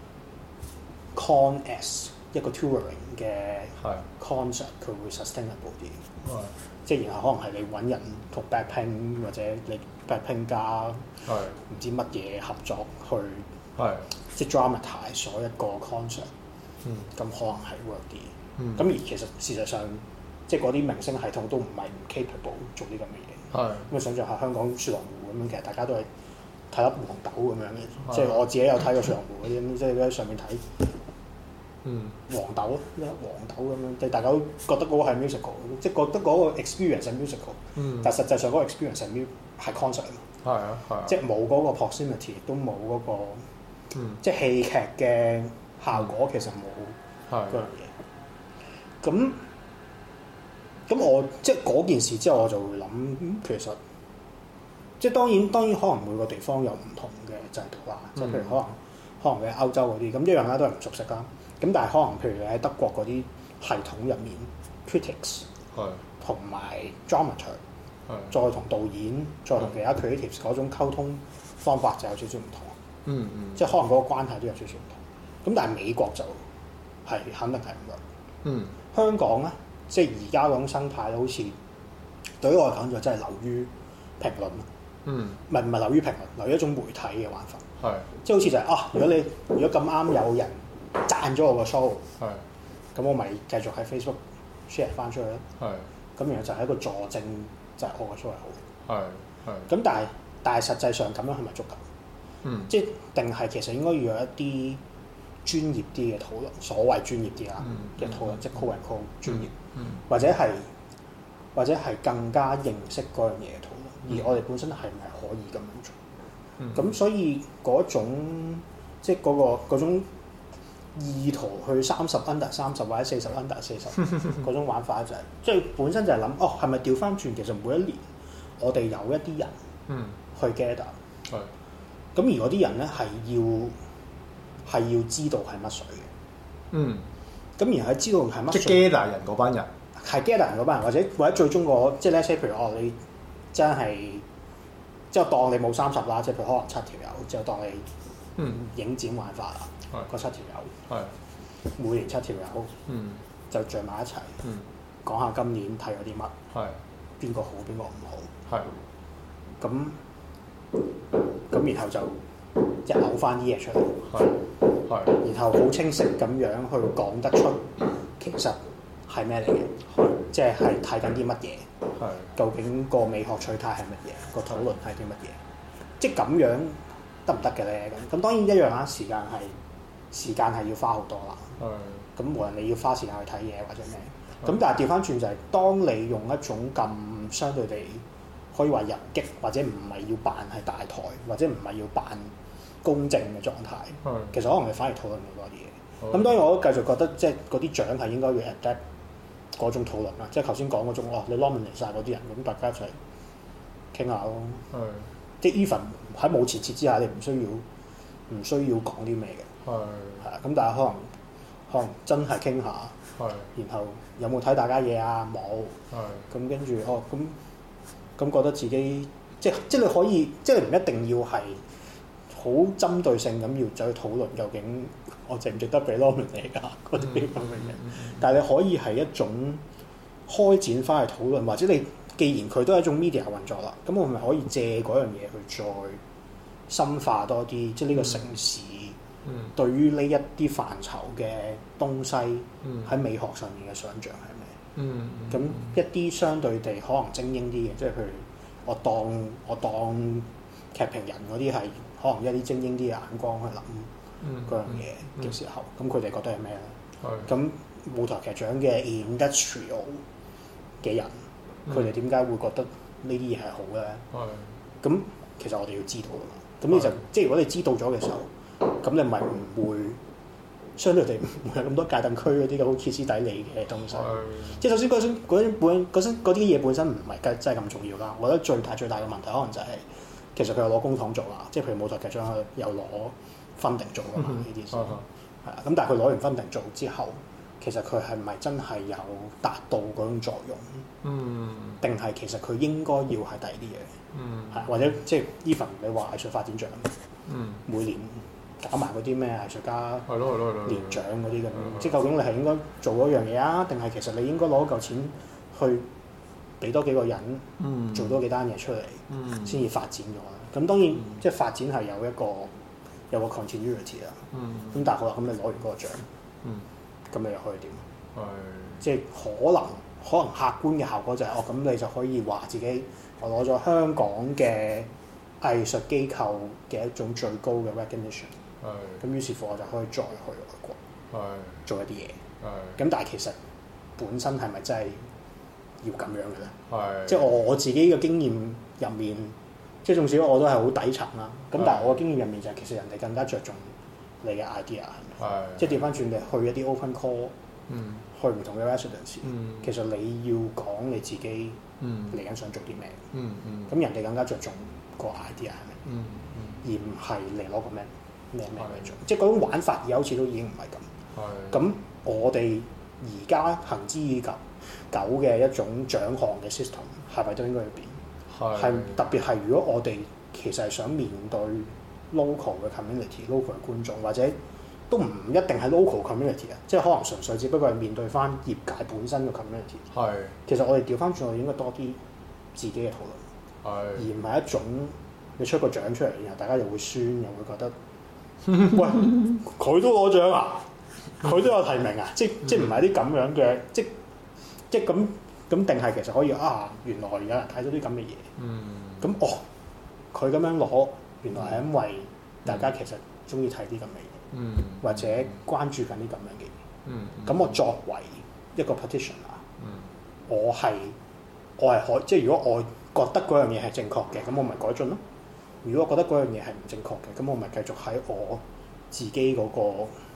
con as 一個 touring 嘅 concert， 佢會 sustainable 啲。即係然後可能係你揾人同 Blackpink 或者你 Blackpink 加唔知乜嘢合作去，即係 dramatize 咗一個 concert，咁可能係 work 啲。咁而其實事實上，即係嗰啲明星系統都唔係唔 capable 做啲咁嘅嘢。咁你想象下香港雪狼湖咁樣，其實大家都係睇粒黃豆咁樣嘅。即係我自己有睇過雪狼湖嗰啲，即係喺上面睇。黃豆咁樣，即係大家都覺得嗰個係 musical， 即係覺得嗰個 experience 係 musical，但係實際上嗰個 experience 係 concert 啊嘛，即係冇嗰個 proximity， 都冇嗰個，即係戲劇嘅效果其實冇嗰樣嘢。咁我即係嗰件事之後，我就會諗，其實即係當然可能每個地方有唔同嘅制度啦，即係譬如可能你喺歐洲嗰啲，咁一樣啦，都係唔熟悉啦。咁但係可能譬如你喺德國嗰啲系統入面 critics 同埋 dramaturg 再同導演再同其他 creatives 嗰種溝通方法就有少少唔同。即係可能嗰個關係都有少少唔同。咁但係美國就係肯定係唔同。香港咧，即係而家嗰種生態好似對於我嚟講就真係流於評論。唔係流於評論，流於一種媒體嘅玩法。即係好似就係如果咁啱有人讚咗我個 show，咁我咪繼續喺 Facebook share 翻出去咯。咁然後就係一個助證，就係我個 show 係好。咁但係實際上咁樣係咪足夠？即係定係其實應該要有一啲專業啲嘅討論，所謂專業啲啦嘅討論，即係 call and call 專業，或者係更加認識嗰樣嘢嘅討論。而我哋本身係咪可以咁樣做？咁所以嗰種即係嗰種意圖去30 under 30或者40 under 40嗰種玩法就係、即係本身就係諗係咪調翻轉？其實每一年我哋有一啲人去 gather，咁而嗰啲人咧係要知道係乜水嘅。咁然後知道係乜水， 即係 gather 人嗰班人， 係 gather 人嗰班人，或者最終個即係咧，譬如你真係即係當你冇30啦，即係譬如可能7條友，就當你影展玩法啦。嗰7條友，每年7條友，就聚埋一齊，講下今年睇咗啲乜，邊個好邊個唔好，咁然後就即係嘔翻啲嘢出嚟，然後好清晰咁樣去講得出其實係咩嚟嘅，即係睇緊啲乜嘢，究竟個美學取態係乜嘢，個討論係啲乜嘢，即係咁樣得唔得嘅咧？咁當然一樣啦，時間係要花好多啦。咁無論你要花時間去睇嘢或者咩，咁但係調翻轉就係、當你用一種咁相對地可以話遊擊，或者唔係要扮係大台，或者唔係要扮公正嘅狀態，其實可能你反而討論好多啲嘢。咁當然我都繼續覺得即係嗰啲獎係應該要 adapt 嗰種討論啦，即係頭先講嗰種你 nominate 曬嗰啲人，咁大家一齊傾下咯。即係 even 喺冇前設之下，你唔需要講啲咩嘅。咁但係可能真係傾下，然後有冇睇大家嘢啊？冇，咁跟住咁覺得自己即係你可以，即係你唔一定要係好針對性咁要走去討論究竟我值唔值得俾 nominate 㗎嗰啲咁嘅嘢，但係你可以係一種開展翻去討論，或者你既然佢都係一種 media 運作啦，咁我咪可以借嗰樣嘢去再深化多啲，即係呢個城市。對於呢一啲範疇嘅東西喺美學上面嘅想像係咩？咁一啲相對地可能精英啲嘅，即係譬如我當劇評人嗰啲係可能一啲精英啲嘅眼光去諗嗰樣嘢嘅時候，咁佢哋覺得係咩咧？咁舞台劇獎嘅 industrial 嘅人，佢哋點解會覺得呢啲嘢係好咧？咁其實我哋要知道㗎嘛。咁你就即係如果你知道咗嘅時候。咁你咪唔會相對地唔會有咁多界凳區嗰啲嘅好歇斯底里嘅東西。即係首先嗰啲嘢本身唔係真係咁重要啦。我覺得最大嘅問題可能就係、其實佢有攞公帑做啦，即係譬如舞台劇獎有攞分定做㗎嘛呢啲事。咁但係佢攞完分定做之後，其實佢係咪真係有達到嗰種作用？定係其實佢應該要係第二啲嘢？或者即係 even 你話藝術發展獎，每年。搞埋嗰啲咩藝術家年獎嗰啲咁，即係究竟你係應該做嗰樣嘢啊，定係其實你應該攞嚿錢去俾多幾個人做多幾單嘢出嚟，先至發展咗啦。咁當然即係發展係有個 continuity 啦。咁但係好啦，咁你攞完嗰個獎，咁你又可以點？即係可能客觀嘅效果就係咁你就可以話自己我攞咗香港嘅藝術機構嘅一種最高嘅 recognition。咁於是乎我就可以再去外國做一啲嘢。咁但係其實本身係咪真係要咁樣嘅咧？即係我自己嘅經驗入面，即係縱使我都係好底層啦。咁但係我嘅經驗入面就係其實人哋更加着重你嘅 idea 係咪？即係調翻轉你去一啲 open call，去唔同嘅 residency，其實你要講你自己嚟緊想做啲咩。咁人哋更加着重個 idea 係咪？而唔係嚟攞個咩做，即係嗰種玩法而家好似都已經唔係咁。咁我哋而家行之已久嘅一種獎項嘅 system 係咪都應該要變？係特別係如果我哋其實係想面對 local 嘅 community、local 嘅觀眾，或者都唔一定係 local community 啊，即係可能純粹只不過係面對翻業界本身嘅 community。其實我哋調翻轉，我哋應該多啲自己嘅討論，而唔係一種你出個獎出嚟，然後大家又會酸，又會覺得。喂，佢都攞獎啊！佢都有提名啊！即唔係啲咁樣嘅，即咁定係其實可以原來有人睇到啲咁嘅嘢。咁佢咁樣攞，原來係因為大家其實中意睇啲咁嘅嘢，或者關注緊啲咁樣嘅嘢。咁我作為一個 petitioner，我係可即係如果我覺得嗰樣嘢係正確嘅，咁我咪改進咯。如果我覺得嗰樣嘢係唔正確嘅，咁我咪繼續喺我自己嗰個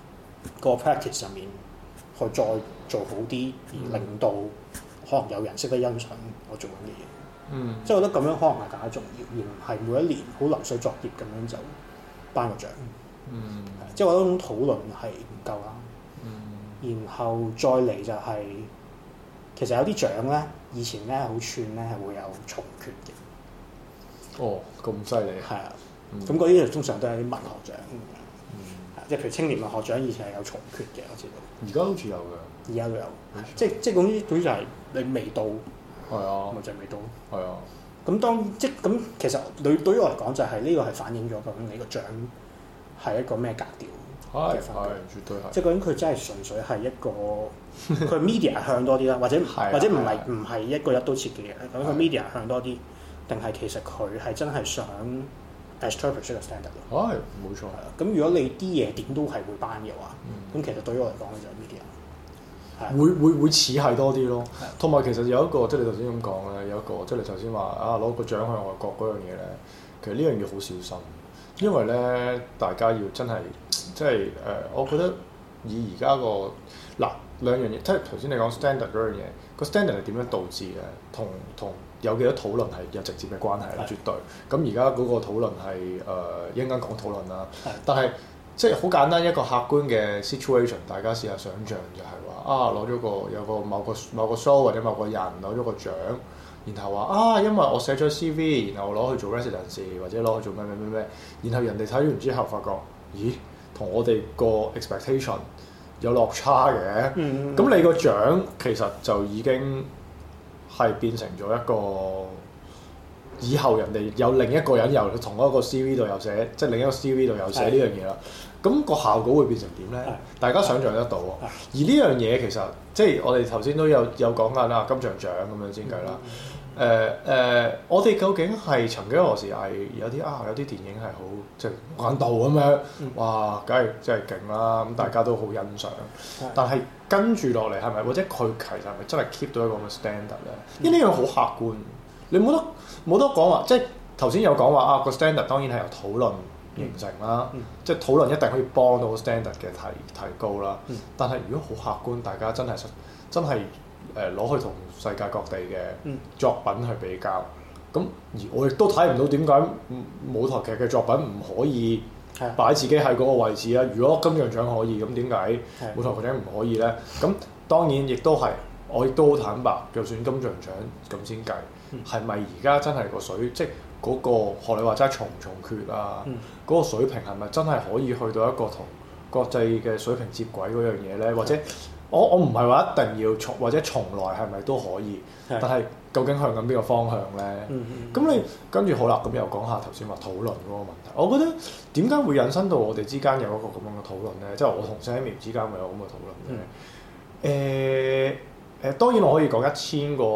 個 practice 上面去再做好啲，而令到可能有人識得欣賞我做緊嘅嘢。即係我覺得咁樣可能係更加重要，而唔係每一年好流水作業咁樣就頒個獎。即係我覺得嗰種討論係唔夠啦。然後再嚟就係、其實有啲獎咧，以前咧好串咧係會有重缺嘅。 哦，咁犀利。係啊，咁嗰啲通常都係啲文學獎。即係譬如青年文學獎以前係有重缺嘅，我知道。 而家好似有㗎。 而家都有。即係總之就係你未到。 係啊。 咪就係未到。 係啊。 咁其實對於我嚟講就係呢個係反映咗究竟你個獎係一個咩格調嘅分別。 絕對係。 即係究竟佢真係純粹係一個佢 media 向多啲啦，或者唔係一個一刀切嘅嘢。咁佢 media 向多啲，定係其實佢係真係想 establish 個 standard 咯。 係冇錯。 咁如果你啲嘢點都係會頒嘅話，咁其實對於我嚟講咧就係 media。 會似係多啲咯，同埋其實有一個即係你頭先咁講咧，有一個即係你頭先話啊攞個獎去外國嗰樣嘢咧，其實呢樣嘢好小心，因為咧大家要真係即係我覺得以而家個嗱兩樣嘢，即係頭先你講 standard 嗰樣嘢，個 standard 係點樣導致嘅，同有幾多討論係有直接嘅關係啦，絕對。咁而家嗰個討論係一陣間講討論啦，但係即係好簡單一個客觀嘅 situation， 大家試下想像就係話攞咗有個某個 show 或者某個人攞咗個獎，然後話因為我寫咗 CV， 然後攞去做 residency 或者攞去做咩，然後人哋睇完之後發覺，咦，同我哋個 expectation 有落差嘅，咁你個獎其實就已經係變成咗一個以後人哋有另一個人由同一個 CV 度有寫，即係另一個 CV 度有寫呢樣嘢啦。咁個效果會變成點咧？大家想像得到。而呢樣嘢其實即係我哋頭先都有講緊啦，金像獎咁樣先計啦。我哋究竟係曾經何時係有啲電影係好即係無間道咁樣，哇，梗係真係勁啦！咁大家都好欣賞。但係跟住落嚟係咪或者佢其實係咪真係 keep 到一個咁嘅 standard 咧？因為呢樣好客觀，你冇得講話，即係頭先有講話個 standard 當然係由討論形成啦，即係討論一定可以幫到 standard 嘅提高啦。但係如果好客觀，大家真係攞去同世界各地嘅作品去比較，咁而我亦都睇唔到點解舞台劇嘅作品唔可以擺自己喺嗰個位置啊？如果金像獎可以，咁點解舞台劇唔可以咧？咁當然亦都係，我亦都好坦白，就算金像獎咁先計，係咪而家真係個水即係嗰個學你話齋重缺啊？嗰個水平係咪真係可以去到一個同國際嘅水平接軌嗰樣嘢咧？或者我唔係話一定要或者從來係咪都可以？但係究竟向緊邊個方向咧？咁你跟住好啦，咁又講下頭先話討論嗰個問題。我覺得點解會引申到我哋之間有一個咁樣嘅討論咧？即係我同 Sammy 之間咪有咁嘅討論咧？當然我可以講1000個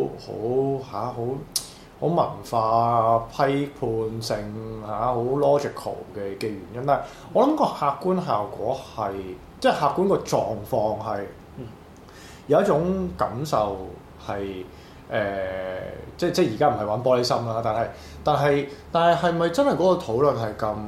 好文化批判性好 logical 嘅原因，但係我諗個客觀效果係即係客觀個狀況係有一種感受係即係而家唔係玩玻璃心啦，但係係咪真係嗰個討論係咁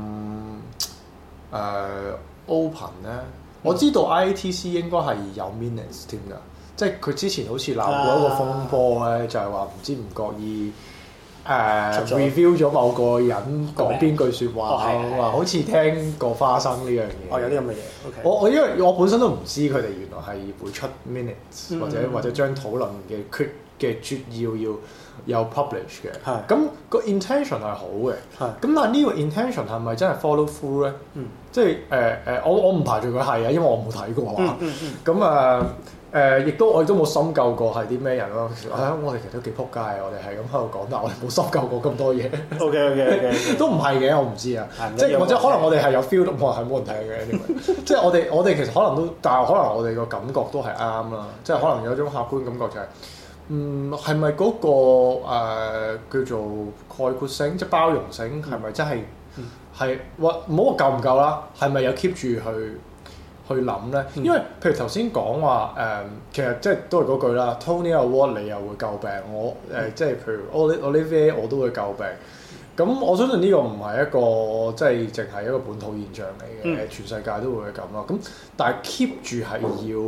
open 咧？我知道 IATC 應該係有 minutes 添㗎，即係佢之前好似鬧過一個風波咧，就係話唔知唔覺意review 咗某個人講邊句説話，話好似聽過花生呢樣嘢。有啲咁嘅嘢。我因為我本身都唔知佢哋原來係會出 minutes、或者將討論嘅撮要有 publish 嘅。咁個 intention 係好嘅。咁但係呢個 intention 係咪真係 follow through 咧？即係我唔排除佢係啊，因為我冇睇過啊。咁我亦都冇深究過係啲咩人咯。我哋其實都幾撲街，我哋係咁喺度講，但係我哋冇深究過咁多嘢。OK，都唔係嘅，我唔知啊。即係或者可能我哋係有 feel 到，係冇人睇嘅。即係我哋其實可能都，但係可能我哋個感覺都係啱啦。即係可能有種客觀感覺就係，係咪嗰個叫做概括性，即係包容性，係咪真係係唔好話夠唔夠啦？係咪有 keep 住去諗咧？因為譬如頭先講話其實即係都係嗰句啦。Tony Award 你又會詬病，我即係譬如 Olivier 我都會詬病。 咁我相信呢個唔係一個即係淨係一個本土現象嚟嘅，全世界都會係咁咯。咁但係 keep 住係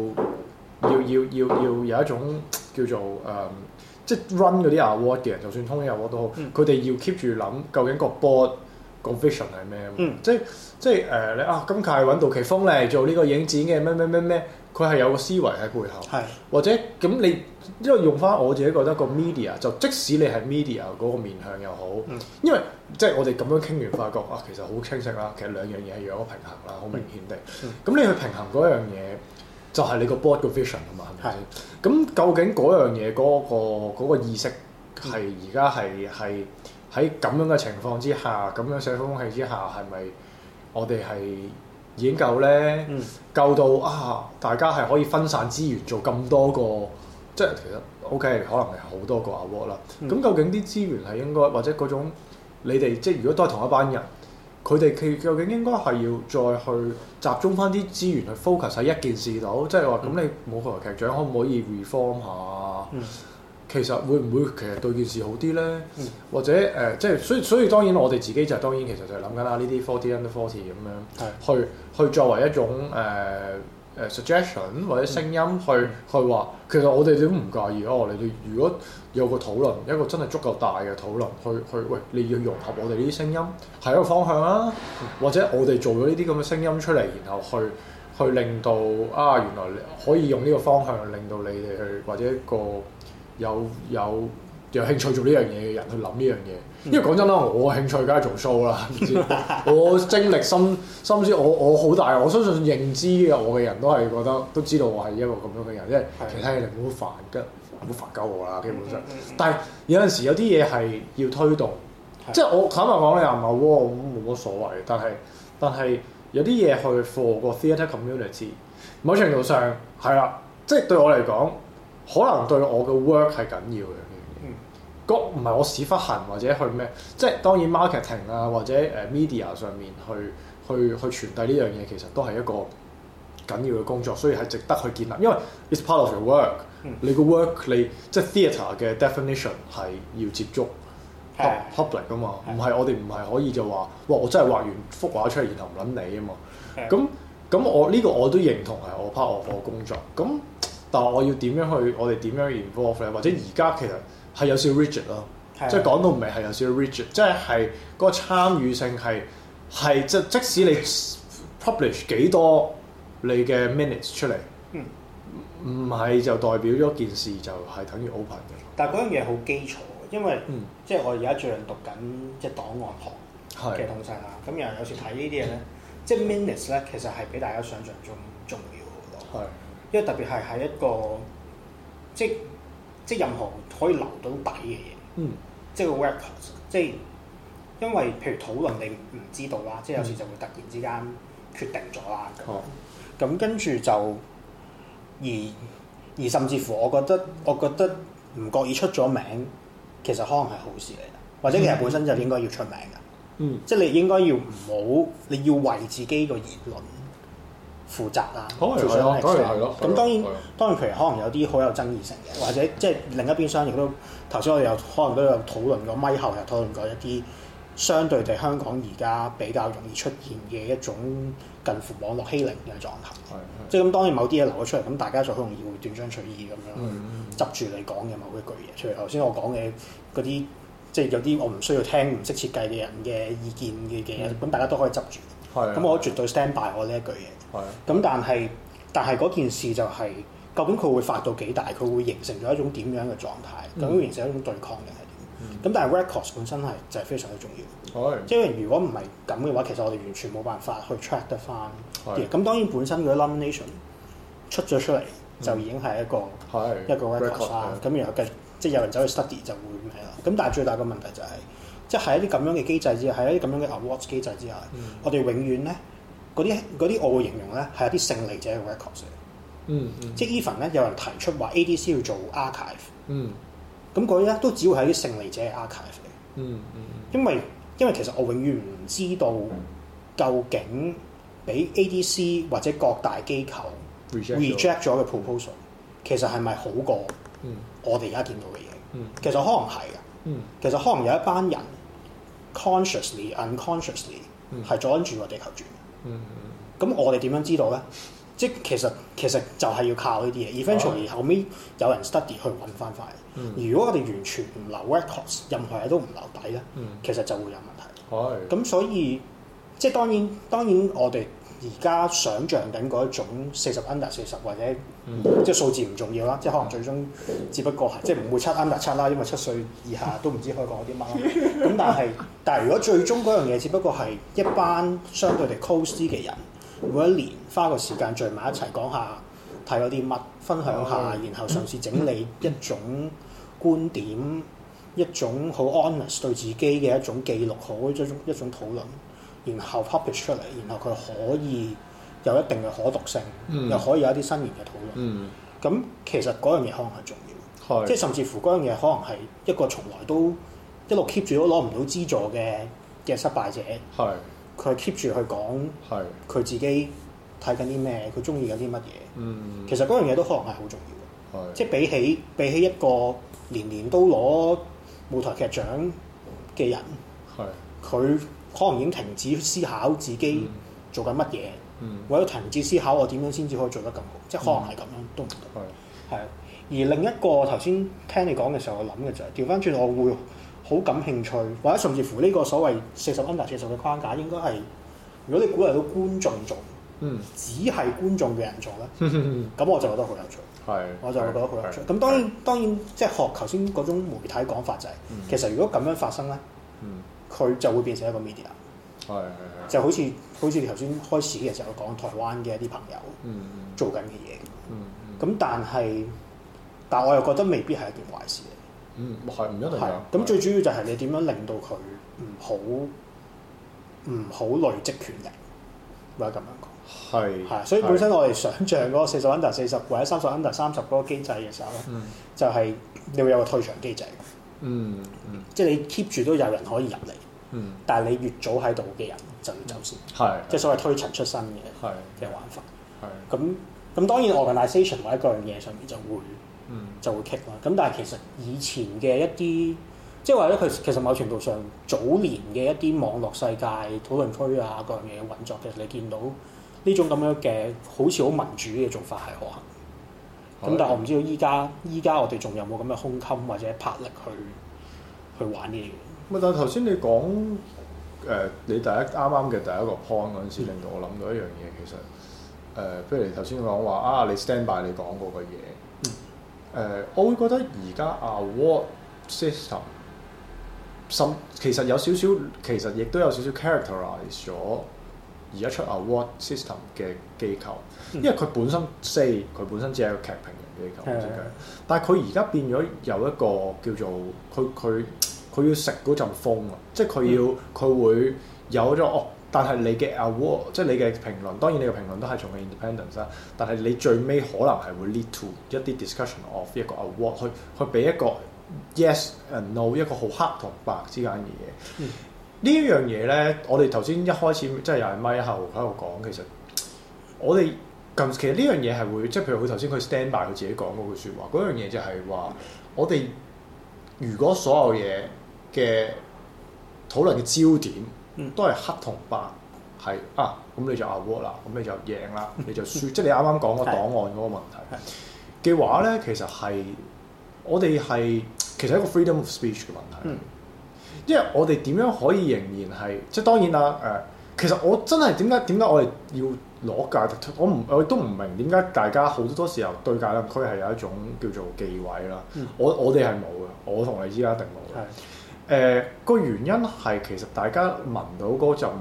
要有一種叫做即係 run 嗰啲 award 嘅人，就算 Tony Award 都好，佢哋要 keep 住諗究竟個 board 個 vision 係咩？即係你今屆揾杜琪峰嚟做呢個影展嘅咩，佢係有個思維喺背後， 係或者咁你因為用翻我自己覺得個 media 就即使你係 media 嗰個面向又好，因為即係我哋咁樣傾完發覺其實好清晰啦，其實兩樣嘢係要有個平衡啦，好明顯地。咁你去平衡嗰樣嘢，就係你個 board 個 vision 啊嘛，係咪先？咁究竟嗰樣嘢嗰個意識係而家係喺咁樣嘅情況之下，咁樣社會風氣之下，係咪我哋係已經夠咧？夠到大家係可以分散資源做咁多個，即係其實 OK，可能係好多個 award 啦。咁究竟啲資源係應該或者嗰種你哋即係如果都係同一班人，佢哋究竟應該係要再去集中翻啲資源去 focus 喺一件事度，即係話咁你舞台劇獎可唔可以 reform 下？其實會唔會其實對件事好啲咧？或者即係所以當然我哋自己就當然其實就係諗緊呢啲 40 under 40咁樣，去作為一種suggestion 或者聲音去話，其實我哋都唔介意你哋如果有個討論，一個真係足夠大嘅討論，喂你要融合我哋呢啲聲音係一個方向啦，或者我哋做咗呢啲咁嘅聲音出嚟，然後去令到原來可以用呢個方向令到你哋去或者一個有興趣做呢樣嘢嘅人去諗呢樣嘢，因為講真啦，我興趣梗係做 show 啦，我精力心思我好大，我相信認知嘅我嘅人都係覺得都知道我係一個咁樣嘅人，因為其他嘢你唔好煩鳩我啦，基本上。但係有陣時有啲嘢係要推動，即係我坦白講你又唔係喎，冇乜所謂。但係有啲嘢去 for 個 theatre community， 某程度上係啦，即係對我嚟講。可能對我嘅 work 係緊要嘅，唔係我屎忽痕或者去咩，即係當然 marketing 或者media 上面去傳遞呢樣嘢，其實都係一個緊要嘅工作，所以係值得去建立，因為 it's part of your work。你個 work 你即係 theatre 嘅 definition 係要接觸 public 㗎嘛，我哋唔係可以就話我真係畫完幅畫出嚟然後唔撚你啊嘛，咁我呢個我都認同係我 part of 我工作咁。但係我要點樣去？我哋點樣 involve 咧？或者而家其實係有少少 rigid 咯，即係講到尾係有少少 rigid，即係嗰個參與性係即使你 publish 幾多你嘅 minutes 出嚟，唔係就代表咗件事就係等於 open 嘅。 但係嗰樣嘢好基礎，因為即係我而家最近讀緊即係檔案學嘅東西啦。咁又有時睇呢啲嘢咧，即係 minutes 咧，其實係比大家想象中重要好多。因為特別係喺一個即任何可以留到底嘅嘢，即係個 record， 即係因為譬如討論你唔知道啦，即係有時就會突然之間決定咗啦。咁跟住就而甚至乎我覺得唔覺意出咗名，其實可能係好事嚟嘅，或者其實本身就應該要出名㗎。即係你應該要唔好，你要為自己個言論負責啦，負上係咯。咁當然譬如可能有啲好有爭議性嘅，或者即係另一邊廂亦都頭先我哋可能都有討論過，咪後又討論過一啲相對地香港而家比較容易出現嘅一種近乎網絡欺凌嘅狀態。即係咁當然某啲嘢流咗出嚟，咁大家就好容易會斷章取義咁樣執住你講嘅某一句嘢。譬如頭先我講嘅嗰啲，即係有啲我唔需要聽唔識設計嘅人嘅意見嘅嘢，咁大家都可以執住。咁我絕對 stand by 我呢一句嘢。咁但係嗰件事就係、究竟佢會發到幾大？佢會形成咗一種點樣嘅狀態？究竟會形成一種對抗定係點？咁但係 records 本身就係非常之重要。因為如果唔係咁嘅話，其實我哋完全冇辦法去 track 得翻啲。咁當然本身嗰啲 nomination 出咗出嚟就已經係一個 records 啦。咁然後即係有人走去 study 就會咩啦。咁但係最大嘅問題就係、即係喺一啲咁樣嘅機制之下，喺一啲咁樣嘅 awards 機制之下，我哋永遠咧。嗰啲我會形容咧係一啲勝利者嘅 records 嚟。即係 even 咧有人提出話 ADC 要做 archive，咁嗰啲咧都只會係啲勝利者嘅 archive 嚟。因為其實我永遠唔知道究竟俾 ADC 或者各大機構 reject 咗嘅 proposal，其實係咪好過我哋而家見到嘅嘢？其實可能係嘅。其實可能有一班人 consciously unconsciously 係阻緊住個地球轉。咁我哋點樣知道咧？即係其實就係要靠呢啲嘢。eventually 後尾有人 study 去揾翻返嚟。如果我哋完全唔留 records，任何嘢都唔留底咧，其實就會有問題。咁所以即係當然我哋而家想像緊嗰一種40 under 40或者即係數字唔重要啦，即係可能最終只不過係即係唔會7 under 7啦，因為7歲以下都唔知可以講啲乜啦。咁但係如果最終嗰樣嘢只不過係一班相對地 close 啲嘅人，每一年花個時間聚埋一齊講下睇咗啲乜，分享下，然後嘗試整理一種觀點，一種好 honest 對自己嘅一種記錄，好一種討論。然後 publish 出嚟，然後佢可以有一定嘅可讀性，又可以有一啲新穎嘅討論。咁其實嗰樣嘢可能係重要，即係甚至乎嗰樣嘢可能係一個從來都一路 keep 住都攞唔到資助嘅失敗者。佢 keep 住去講佢自己睇緊啲咩，佢中意緊啲乜嘢。其實嗰樣嘢都可能係好重要。即係比起一個年年都攞舞台劇獎嘅人，佢可能已經停止思考自己做緊乜嘢，或者停止思考我點樣先至可以做得更好，即係可能係咁樣都唔得。係。而另一個頭先聽你講嘅時候，我諗嘅就係調翻轉，我會好感興趣，或者甚至乎呢個所謂40 under 40嘅框架，應該係如果你鼓勵到觀眾做，只係觀眾嘅人做咧，咁我就覺得好有趣。我就會覺得好有趣。咁當然即係學頭先嗰種媒體講法就係，其實如果咁樣發生咧。佢就會變成一個 media，就好似頭先開始嘅時候講台灣嘅一啲朋友做緊嘅嘢，咁但我又覺得未必係一件壞事嚟。 係唔一定㗎。 咁最主要就係你點樣令到佢唔好累積權力，或者咁樣講。係，所以本身我哋想像嗰個40 under 40或者30 under 30嗰個機制嘅時候咧，就係你會有個退場機制。即係你 keep 住都有人可以入嚟，但係你越早喺度嘅人就要走先，即係所謂推陳出新嘅玩法。咁當然 organisation 或者各樣嘢上面就會 kick 啦。咁但係其實以前嘅一啲，即係或者佢其實某程度上早年嘅一啲網絡世界討論區啊各樣嘢嘅運作，其實你見到呢種咁樣嘅好似好民主嘅做法係可行。咁但係我唔知道依家我哋仲有冇咁嘅胸襟或者魄力去玩呢啲嘢。 但係頭先你講你啱啱嘅第一個 point 嗰陣時，令到我諗到一樣嘢，其實譬如你頭先講話你 stand by 你講過嘅嘢，我會覺得而家 award system 其實有少少，其實亦都有少少 characterize 咗而家出 award system 嘅機構。因為佢本身佢本身只係一個劇評人機構，但係佢而家變咗有一個叫做佢要食嗰陣風啊！即係佢會有咗但係你嘅 award 即係你嘅評論，當然你嘅評論都係從個 independence 啦。但係你最尾可能係會 lead to 一啲 discussion of 一個 award，去俾一個 yes and no 一個好黑同白之間嘅嘢。呢一樣嘢咧，我哋頭先一開始即係又係咪後喺度講，其實我哋。其實呢樣嘢係會，即係譬如佢頭先佢 stand by 佢自己講嗰句説話，嗰樣嘢就係話，我哋如果所有嘢嘅討論嘅焦點都係黑同白，係咁你就 award 啦，咁你就贏啦，你就輸，即係你啱啱講個檔案嗰個問題嘅話咧，其實係我哋係其實一個 freedom of speech 嘅問題，因為我哋點樣可以仍然係，即係當然啦其實我真係點解我哋要攞戒毒？我都唔明點解大家好多時候對戒毒區係有一種叫做忌諱啦。我哋係冇嘅，我同你之間一定冇嘅。個原因係其實大家聞到嗰陣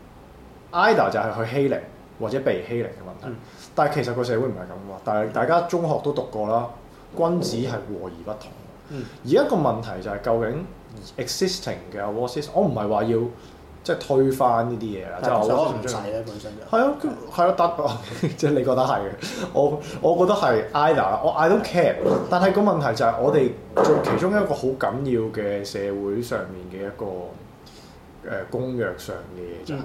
either 就係去欺凌或者被欺凌嘅問題。但係其實個社會唔係咁喎。但係大家中學都讀過啦，君子係和而不同。而一個問題就係究竟 existing 嘅 award system， 我唔係話要。即係推翻呢啲嘢啦，即係我唔使咧本身就係咯，得即係你覺得係嘅，我覺得係 either， 我 I don't care， 但係個問題就係我哋其中一個好緊要嘅社會上面嘅一個公約上嘅嘢就係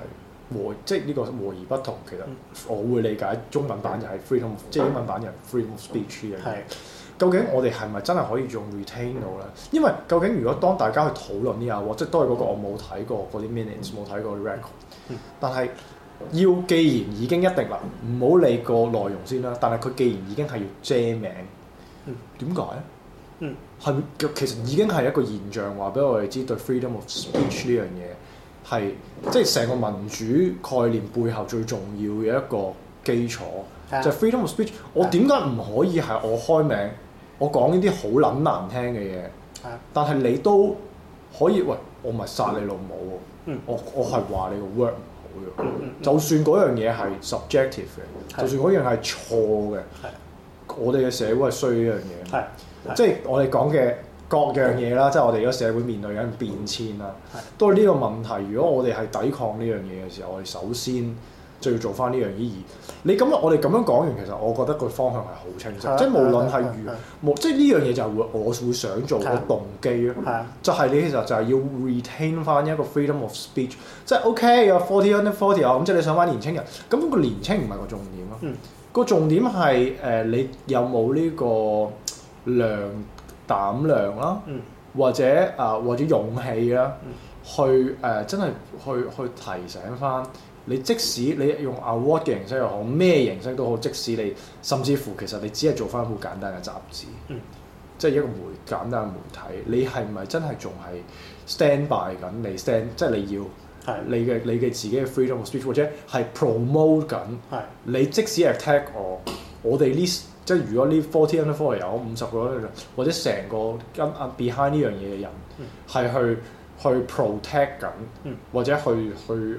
即係呢個和而不同。其實我會理解中文版就係 freedom，即係英文版就係 freedom of speech 呢樣嘢。究竟我哋係咪真係可以仲 retain 到咧？因為究竟如果當大家去討論呢下，即係都係嗰個我冇睇過嗰啲 minutes，冇睇過 record，但係既然已經一定啦，唔好理個內容先啦。但係佢既然已經係要遮名，點解咧？係其實已經係一個現象，話俾我哋知對 freedom of speech 呢樣嘢係即係成個民主概念背後最重要嘅一個基礎，就係 freedom of speech。我點解唔可以係我開名？我講呢啲好撚難聽嘅嘢，但係你都可以喂，我咪殺你老母喎！我係話你個 work 唔好嘅，就算嗰樣嘢係 subjective 嘅，就算嗰樣係錯嘅，我哋嘅社會係需要呢樣嘢，即係我哋講嘅各樣嘢啦，即係我哋而家社會面對緊變遷啦，都係呢個問題。如果我哋係抵抗呢樣嘢嘅時候，我哋首先就要做翻呢樣嘢。你咁我哋咁樣講完，其實我覺得個方向係好清晰，即係無論係即係呢樣嘢就係我會想做個動機咯。就係你其實就係要 retain 翻一個 freedom of speech， 即係 OK 有 40 under 40啊，咁即係你想翻年青人，咁個年青唔係個重點咯。個重點係你有冇呢個膽量啦，或者勇氣啦，去真係去提醒翻。你即使你用 award 嘅形式又好，咩形式都好，即使你甚至乎其實你只係做翻好簡單嘅雜誌，即係一個簡單嘅媒體，你係咪真係仲係 stand by 緊你 stand， 即係你要你嘅自己嘅 freedom of speech， 或者係 promote 緊你即使 attack 我哋呢，即係如果呢40 under 40有50個，或者成個跟 behind 呢樣嘢嘅人係去 protect 緊，或者去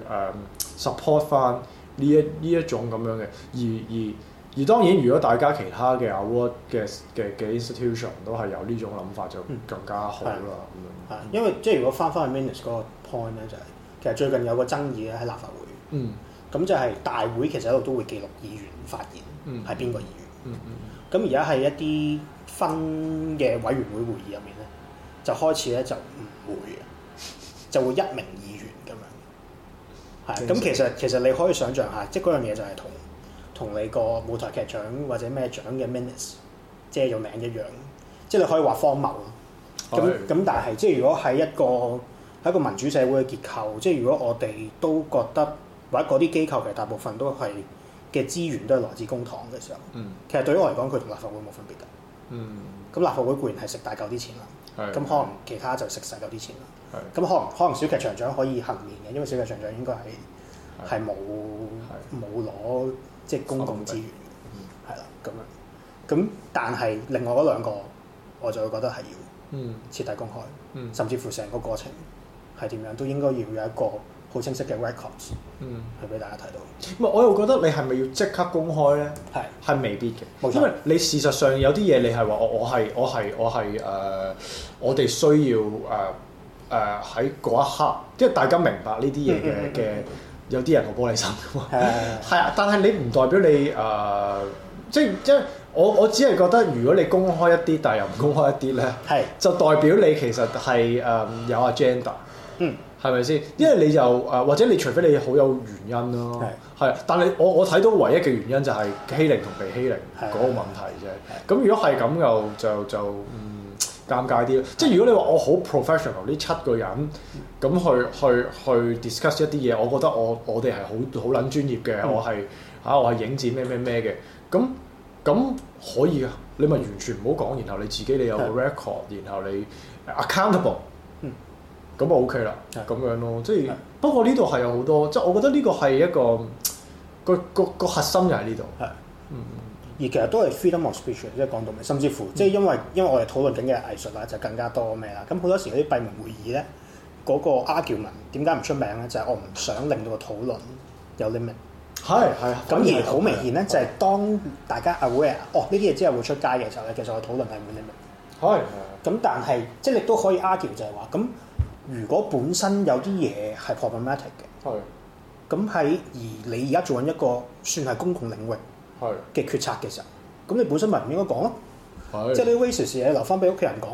support 翻呢一種咁樣嘅，而當然，如果大家其他嘅 award 嘅 institution 都係有呢種諗法，就更加好啦。咁樣因為即係如果翻去 minutes 嗰個 point 咧，就係其實最近有個爭議咧喺立法會，咁就係大會其實一路都會記錄議員發言係邊個議員，咁而家喺一啲分嘅委員會會議入面咧，就開始咧就唔會嘅，就會一名議員咁樣。咁其實你可以想像下，即係嗰樣嘢就係同你個舞台劇獎或者咩獎嘅 minutes 遮咗名一樣，即係你可以話荒謬咯。咁但係即係如果喺一個民主社會嘅結構，即係如果我哋都覺得或者嗰啲機構其實大部分都係嘅資源都係來自公帑嘅時候，其實對於我嚟講，佢同立法會冇分別㗎。咁立法會固然係食大嚿啲錢啦，咁可能其他就食細嚿啲錢啦。咁可能小劇場獎可以幸免嘅，因為小劇場獎應該係冇攞即係公共資源嘅，係啦咁樣。咁但係另外嗰兩個，我就會覺得係要徹底公開，甚至乎成個過程係點樣都應該要有一個好清晰嘅 records 去俾大家睇到。 唔係，我又覺得你係咪要即刻公開咧？係未必嘅，因為你事實上有啲嘢你係話我係我哋需要喺嗰一刻，即係大家明白呢啲嘢嘅，有啲人好玻璃心㗎嘛。係啊，但係你唔代表你即係我只係覺得，如果你公開一啲，但係又唔公開一啲咧，就代表你其實係有 agenda，係咪先？因為你就或者你除非你好有原因咯，係。但係我睇到唯一嘅原因就係欺凌同被欺凌嗰個問題啫。咁如果係咁就尷尬啲咯，即係如果你話我好 professional 呢7個人咁去 discuss 一啲嘢，我覺得我哋係好撚專業嘅，我係影展咩嘅，咁可以啊，你咪完全唔好講，然後你自己你有個 record，然後你 accountable，咁就 OK 啦，咁樣咯，即係不過呢度係有好多，即係我覺得呢個係一個個核心就喺呢度。 而其實都係 freedom of speech， 即係講到尾，甚至乎即係因為我哋討論緊嘅藝術啦，就更加多咩啦。咁好多時嗰啲閉門會議咧，嗰個 argument 點解唔出名咧？就係我唔想令到個討論有 limit。係。咁而好明顯咧，就係當大家 aware，呢啲嘢之後會出街嘅時候咧，其實個討論係冇 limit。咁但係即係你都可以 argue 就係話，咁如果本身有啲嘢係 problematic 嘅，咁而你而家做緊一個算係公共領域嘅決策嘅時候，咁你本身咪唔應該講咯，即係你 racist 嘢留翻俾屋企人講咯，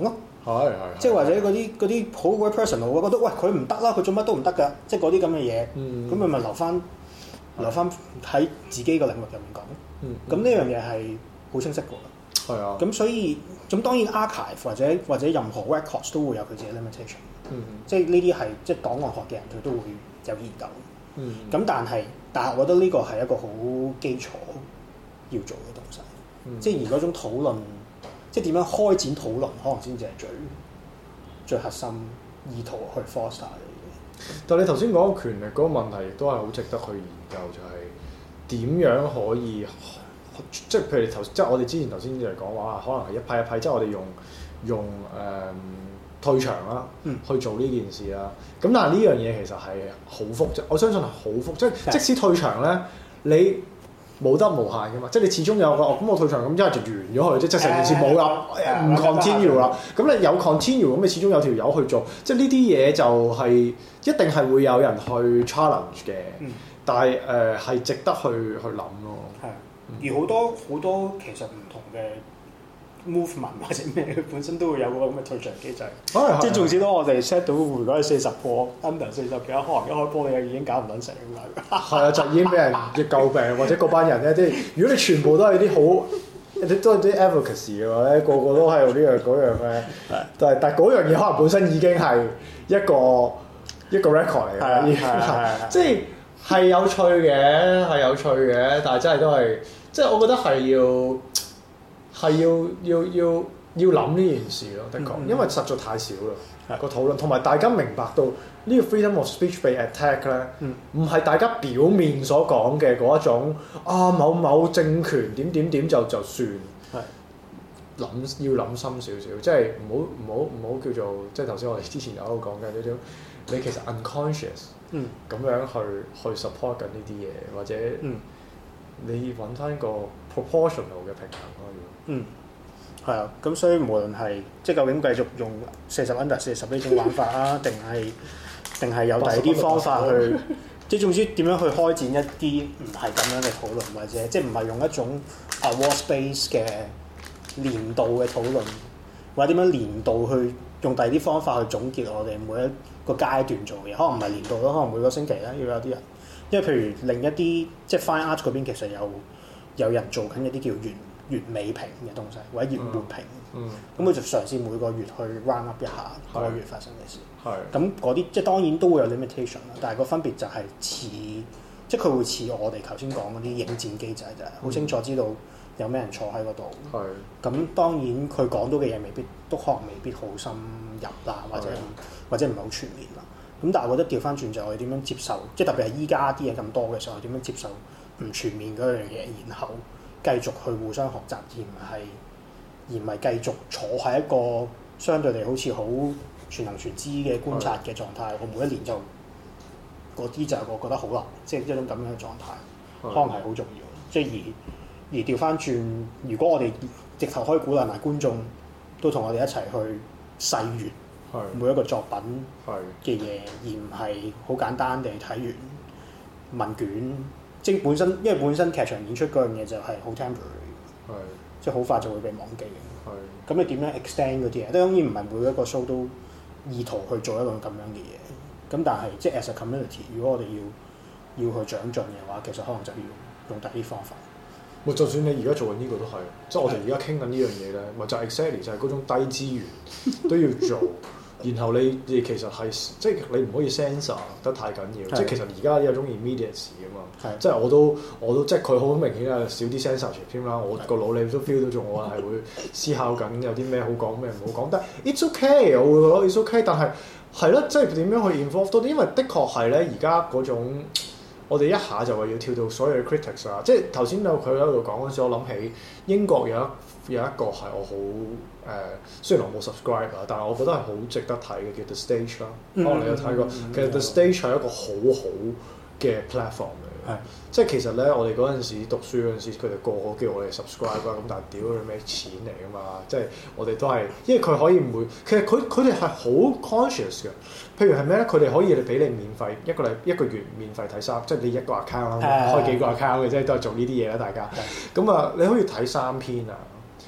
係即係或者嗰啲好鬼 personal，我覺得喂佢唔得啦，佢做乜都唔得㗎，即係嗰啲咁嘅嘢，咁佢咪留翻喺自己個領域入面講。咁呢樣嘢係好清晰㗎。係啊。咁所以咁當然 archive 或者任何 records 都會有佢自己 limitation。即係呢啲係即係檔案學嘅人佢都會有研究。咁但係我覺得呢個係一個好基礎要做嘅東西。即係而嗰種討論，即係點樣開展討論，可能先至係最核心意圖去 foster 嘅嘢。 但係你頭先講權力嗰個問題，亦都係好值得去研究，就係點樣可以即係譬如你即係我哋之前頭先就係講話，可能係一批一批，即係我哋用退場啦，去做呢件事啦。咁但係呢樣嘢其實係好複雜，我相信係好複雜，即使退場咧，你冇得無限噶嘛，即係你始終有個咁我退場咁一係就完咗佢，即係成件事冇啦，唔 continue 啦。咁你有 continue 咁，你始終有條友去做，即係呢啲嘢就係一定係會有人去 challenge 嘅。但係係值得去諗咯。 係，而好多其實唔同嘅 movement 或者咩，本身都會有個咁嘅退場機制。即係縱使當我哋 set 到如果係40波 under 40幾，可能一開波你已經搞唔撚成咁樣。係啊，就已經俾人詬病，或者嗰班人咧，即係如果你全部都係啲好，都係啲 advocacy 嘅話咧，個個都係呢樣嗰樣咧。但係嗰樣嘢可能本身已經係一個 record 嚟嘅，即係係有趣嘅，但係真係都係，即係我覺得要諗呢件事咯，的確，因為實在太少啦個討論，同埋大家明白到呢個 freedom of speech 被 attack 咧，唔係大家表面所講嘅嗰一種某某政權點就算，要諗深少少，即係唔好叫做即係頭先我哋之前有喺度講嘅呢種，你其實 unconscious 咁樣去 support 緊呢啲嘢，或者你揾翻個 proportional 嘅平衡咯。 係啊，咁所以無論係即係究竟繼續用40 under 40呢種玩法啊，定係有第二啲方法去，即係總之點樣去開展一啲唔係咁樣嘅討論，或者即係唔係用一種war space 嘅年度嘅討論，或者點樣年度去用第二啲方法去總結我哋每一個階段做嘅嘢，可能唔係年度咯，可能每個星期咧要有啲人，因為譬如另一啲即係 fine art 嗰邊其實有人做緊一啲叫月尾評嘅東西，或者月末評，咁佢就嘗試每個月去 round up 一下嗰個月發生嘅事。咁嗰啲即係當然都會有 limitation 啦，但係個分別就係似，即係佢會似我哋頭先講嗰啲應戰機制，就係好清楚知道有咩人坐喺嗰度。咁當然佢講到嘅嘢都可能未必好深入啦，或者唔係好全面啦。咁但係我覺得調翻轉就係我哋點樣接受，即係特別係依家啲嘢咁多嘅時候，點樣接受唔全面嗰樣嘢，然後繼續去互相學習，而唔係繼續坐喺一個相對地好似好全能全知嘅觀察嘅狀態。我每一年就嗰啲就我覺得好難，即係一種咁樣嘅狀態，可能係好重要。即係而調翻轉，如果我哋直頭可以鼓勵埋觀眾都同我哋一齊去細閱每一個作品嘅嘢，而唔係好簡單地睇完問卷。即係因為本身劇場演出嗰樣嘢就係好 temporary，即係好快就會被忘記嘅。咁你點樣 extend 嗰啲嘢？當然唔係每一個 show 都意圖去做一個咁樣嘅嘢。咁但係即係 as a community，如果我哋要去長進嘅話，其實可能就要用第啲方法。 就算你而家做緊呢個都係，即係我哋而家傾緊呢樣嘢咧，咪就係 exactly 就係嗰種低資源都要做。然後你其實係即係你唔可以 censor 得太緊要，即係其實而家有種 immediacy 啊嘛，即係我都即係佢好明顯係少啲 censorship 添啦，我個腦裏都 feel 到咗我係會思考緊有啲咩好講咩唔好講，但 it's okay 我會覺得 it's okay， 但係咯，即係點樣去 involve 多啲，因為的確係咧而家嗰種我哋一下就話要跳到所有嘅 critics 啊，即係頭先佢喺度講嗰陣時，我諗起英國有一個係我好雖然我冇 subscribe 啊，但係我覺得係好值得睇嘅，叫 The Stage 啦。可能你有睇過，其實 The Stage 係一個好嘅 platform 嚟嘅。即係其實咧，我哋嗰陣時讀書嗰陣時，佢哋個個叫我哋 subscribe 啊，咁但係屌佢咩錢嚟㗎嘛？即係我哋都係，因為佢可以其實佢哋係好 conscious 嘅。譬如係咩咧？佢哋可以俾你免費一個月免費睇3，即係你一個 account 啦，開幾個 account 嘅，即係都係做呢啲嘢啦，大家。咁啊，你可以睇3篇啊。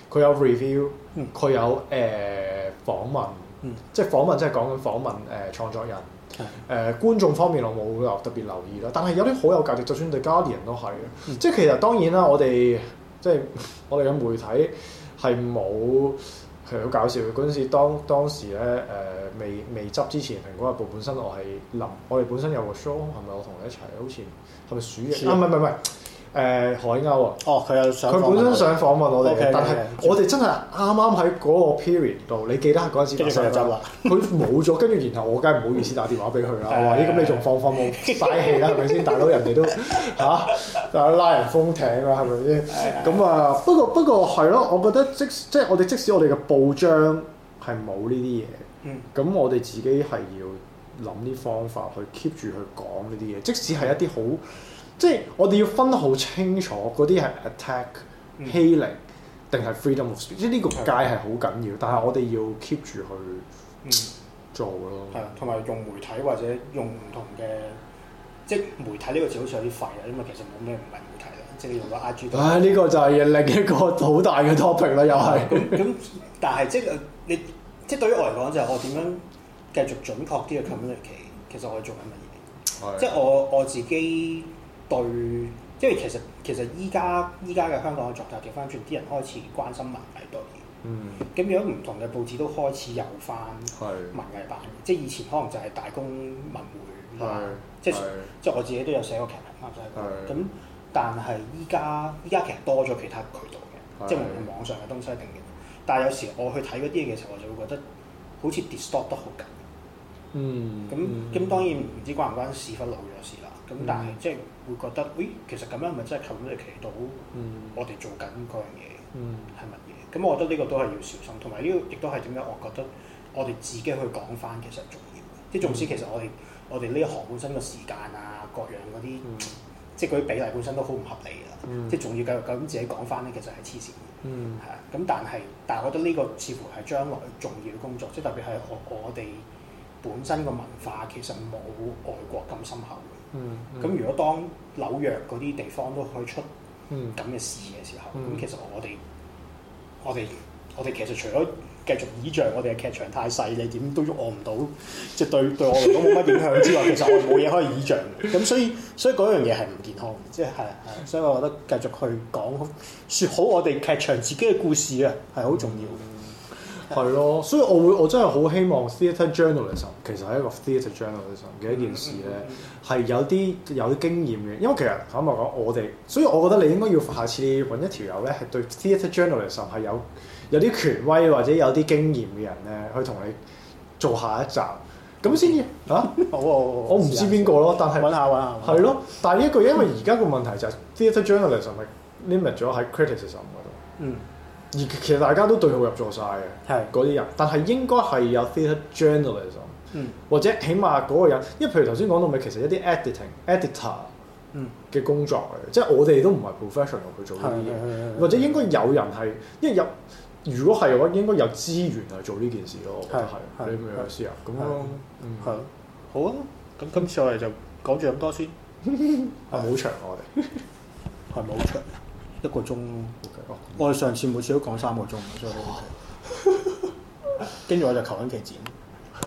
佢有 review，佢有訪問，即係訪問即係講緊訪問創作人。觀眾方面我冇特別留意啦，但係有啲好有價值，就算 The Guardian 都係嘅。即係其實當然啦，我哋即係我哋嘅媒體係冇係好搞笑嘅嗰陣時，當時咧未執之前，蘋果日報本身我哋本身有個 show 係咪我同你一齊？好似係咪鼠疫？唔係。海鷗啊！ 哦，佢有想佢本身想訪問我哋嘅，但係我哋真係啱啱喺嗰個 period 度，你記得嗰陣時發生啦。佢冇咗，跟住然後我梗係唔好意思打電話俾佢啦。我話：咁你仲放冇嘥氣啦，係咪先？大佬人哋都嚇拉人封艇啦，係咪先？咁啊，不過係咯，我覺得即係我哋即使我哋嘅報章係冇呢啲嘢，咁我哋自己係要諗啲方法去 keep 住去講呢啲嘢，即使係一啲好。即係我哋要分得好清楚，嗰啲係 attack、欺凌定係 freedom of speech，即係呢個界係好緊要，但係我哋要 keep 住去做咯。 係啊，同埋用媒體或者用唔同嘅，即係媒體呢個字好似有啲廢啊，因為其實冇咩唔係媒體啦，即係你用個 IG。呢個就係另一個好大嘅 topic 啦，又係。咁，但係即係你即係對於我嚟講就係我點樣繼續準確啲嘅 communicate，其實我係做緊乜嘢？即係我自己。對，因為其實依家嘅香港嘅作家調翻轉，啲人開始關心文藝多啲。咁如果唔同嘅報紙都開始有翻文藝版，即係以前可能就係大公文匯，即係我自己都有寫過劇評啦，就係咁。但係依家其實多咗其他渠道嘅，即係無論網上嘅東西定嘅。但係有時我去睇嗰啲嘢嘅時候，我就會覺得好似 distort 得好緊。咁當然唔知關唔關屎忽老咗事啦。咁但係即係會覺得，其實咁樣咪真係communicate到我哋做緊嗰樣嘢係乜嘢？咁我覺得呢個都係要小心，同埋呢個亦都係點解我覺得我哋自己去講翻其實重要。即係縱使其實我哋呢一行本身嘅時間啊，各樣嗰啲，即係嗰啲比例本身都好唔合理啦。即係仲要繼續咁自己講翻咧，其實係黐線嘅。係啊。咁但係我覺得呢個似乎係將來重要嘅工作，即係特別係我哋本身個文化其實冇外國咁深厚。咁如果當紐約嗰啲地方都可以出咁嘅事嘅時候，咁其實我哋其實除咗繼續倚仗我哋嘅劇場太細，你點都喐我唔到，即係對我嚟講冇乜影響之外，其實我哋冇嘢可以倚仗嘅。咁所以嗰樣嘢係唔健康嘅，即係所以我覺得繼續去説好我哋劇場自己嘅故事啊，係好重要嘅。 係咯，所以我真係好希望 theatre journalism 其實係一個 theatre journalism 嘅一件事咧，係有啲經驗嘅。因為其實坦白講，所以我覺得你應該要下次揾一條友咧，係對 theatre journalism 係有啲權威或者有啲經驗嘅人咧，去同你做下一集，咁先至好我唔知邊個咯，但係揾下係咯。但係因為而家個問題就係 theatre journalism 係 limit 咗喺 criticism 嗰度。而其實大家都對號入座晒嘅，嗰啲人，但係應該係有 theatre journalism，或者起碼嗰個人，因為譬如頭先講到咪，其實一啲 editor 嘅工作嚟嘅，即係我哋都唔係 professional 去做呢啲嘢，或者應該有人係，因為如果係嘅話，應該有資源去做呢件事咯，我覺得係，你明唔明意思啊？咁咯， 係，好啊，咁今次我哋就講住咁多先， 係好長我哋， 係咪好長？1個鐘咯，我哋上次每次都講3個鐘，所以都 OK。跟住我就求緊期剪。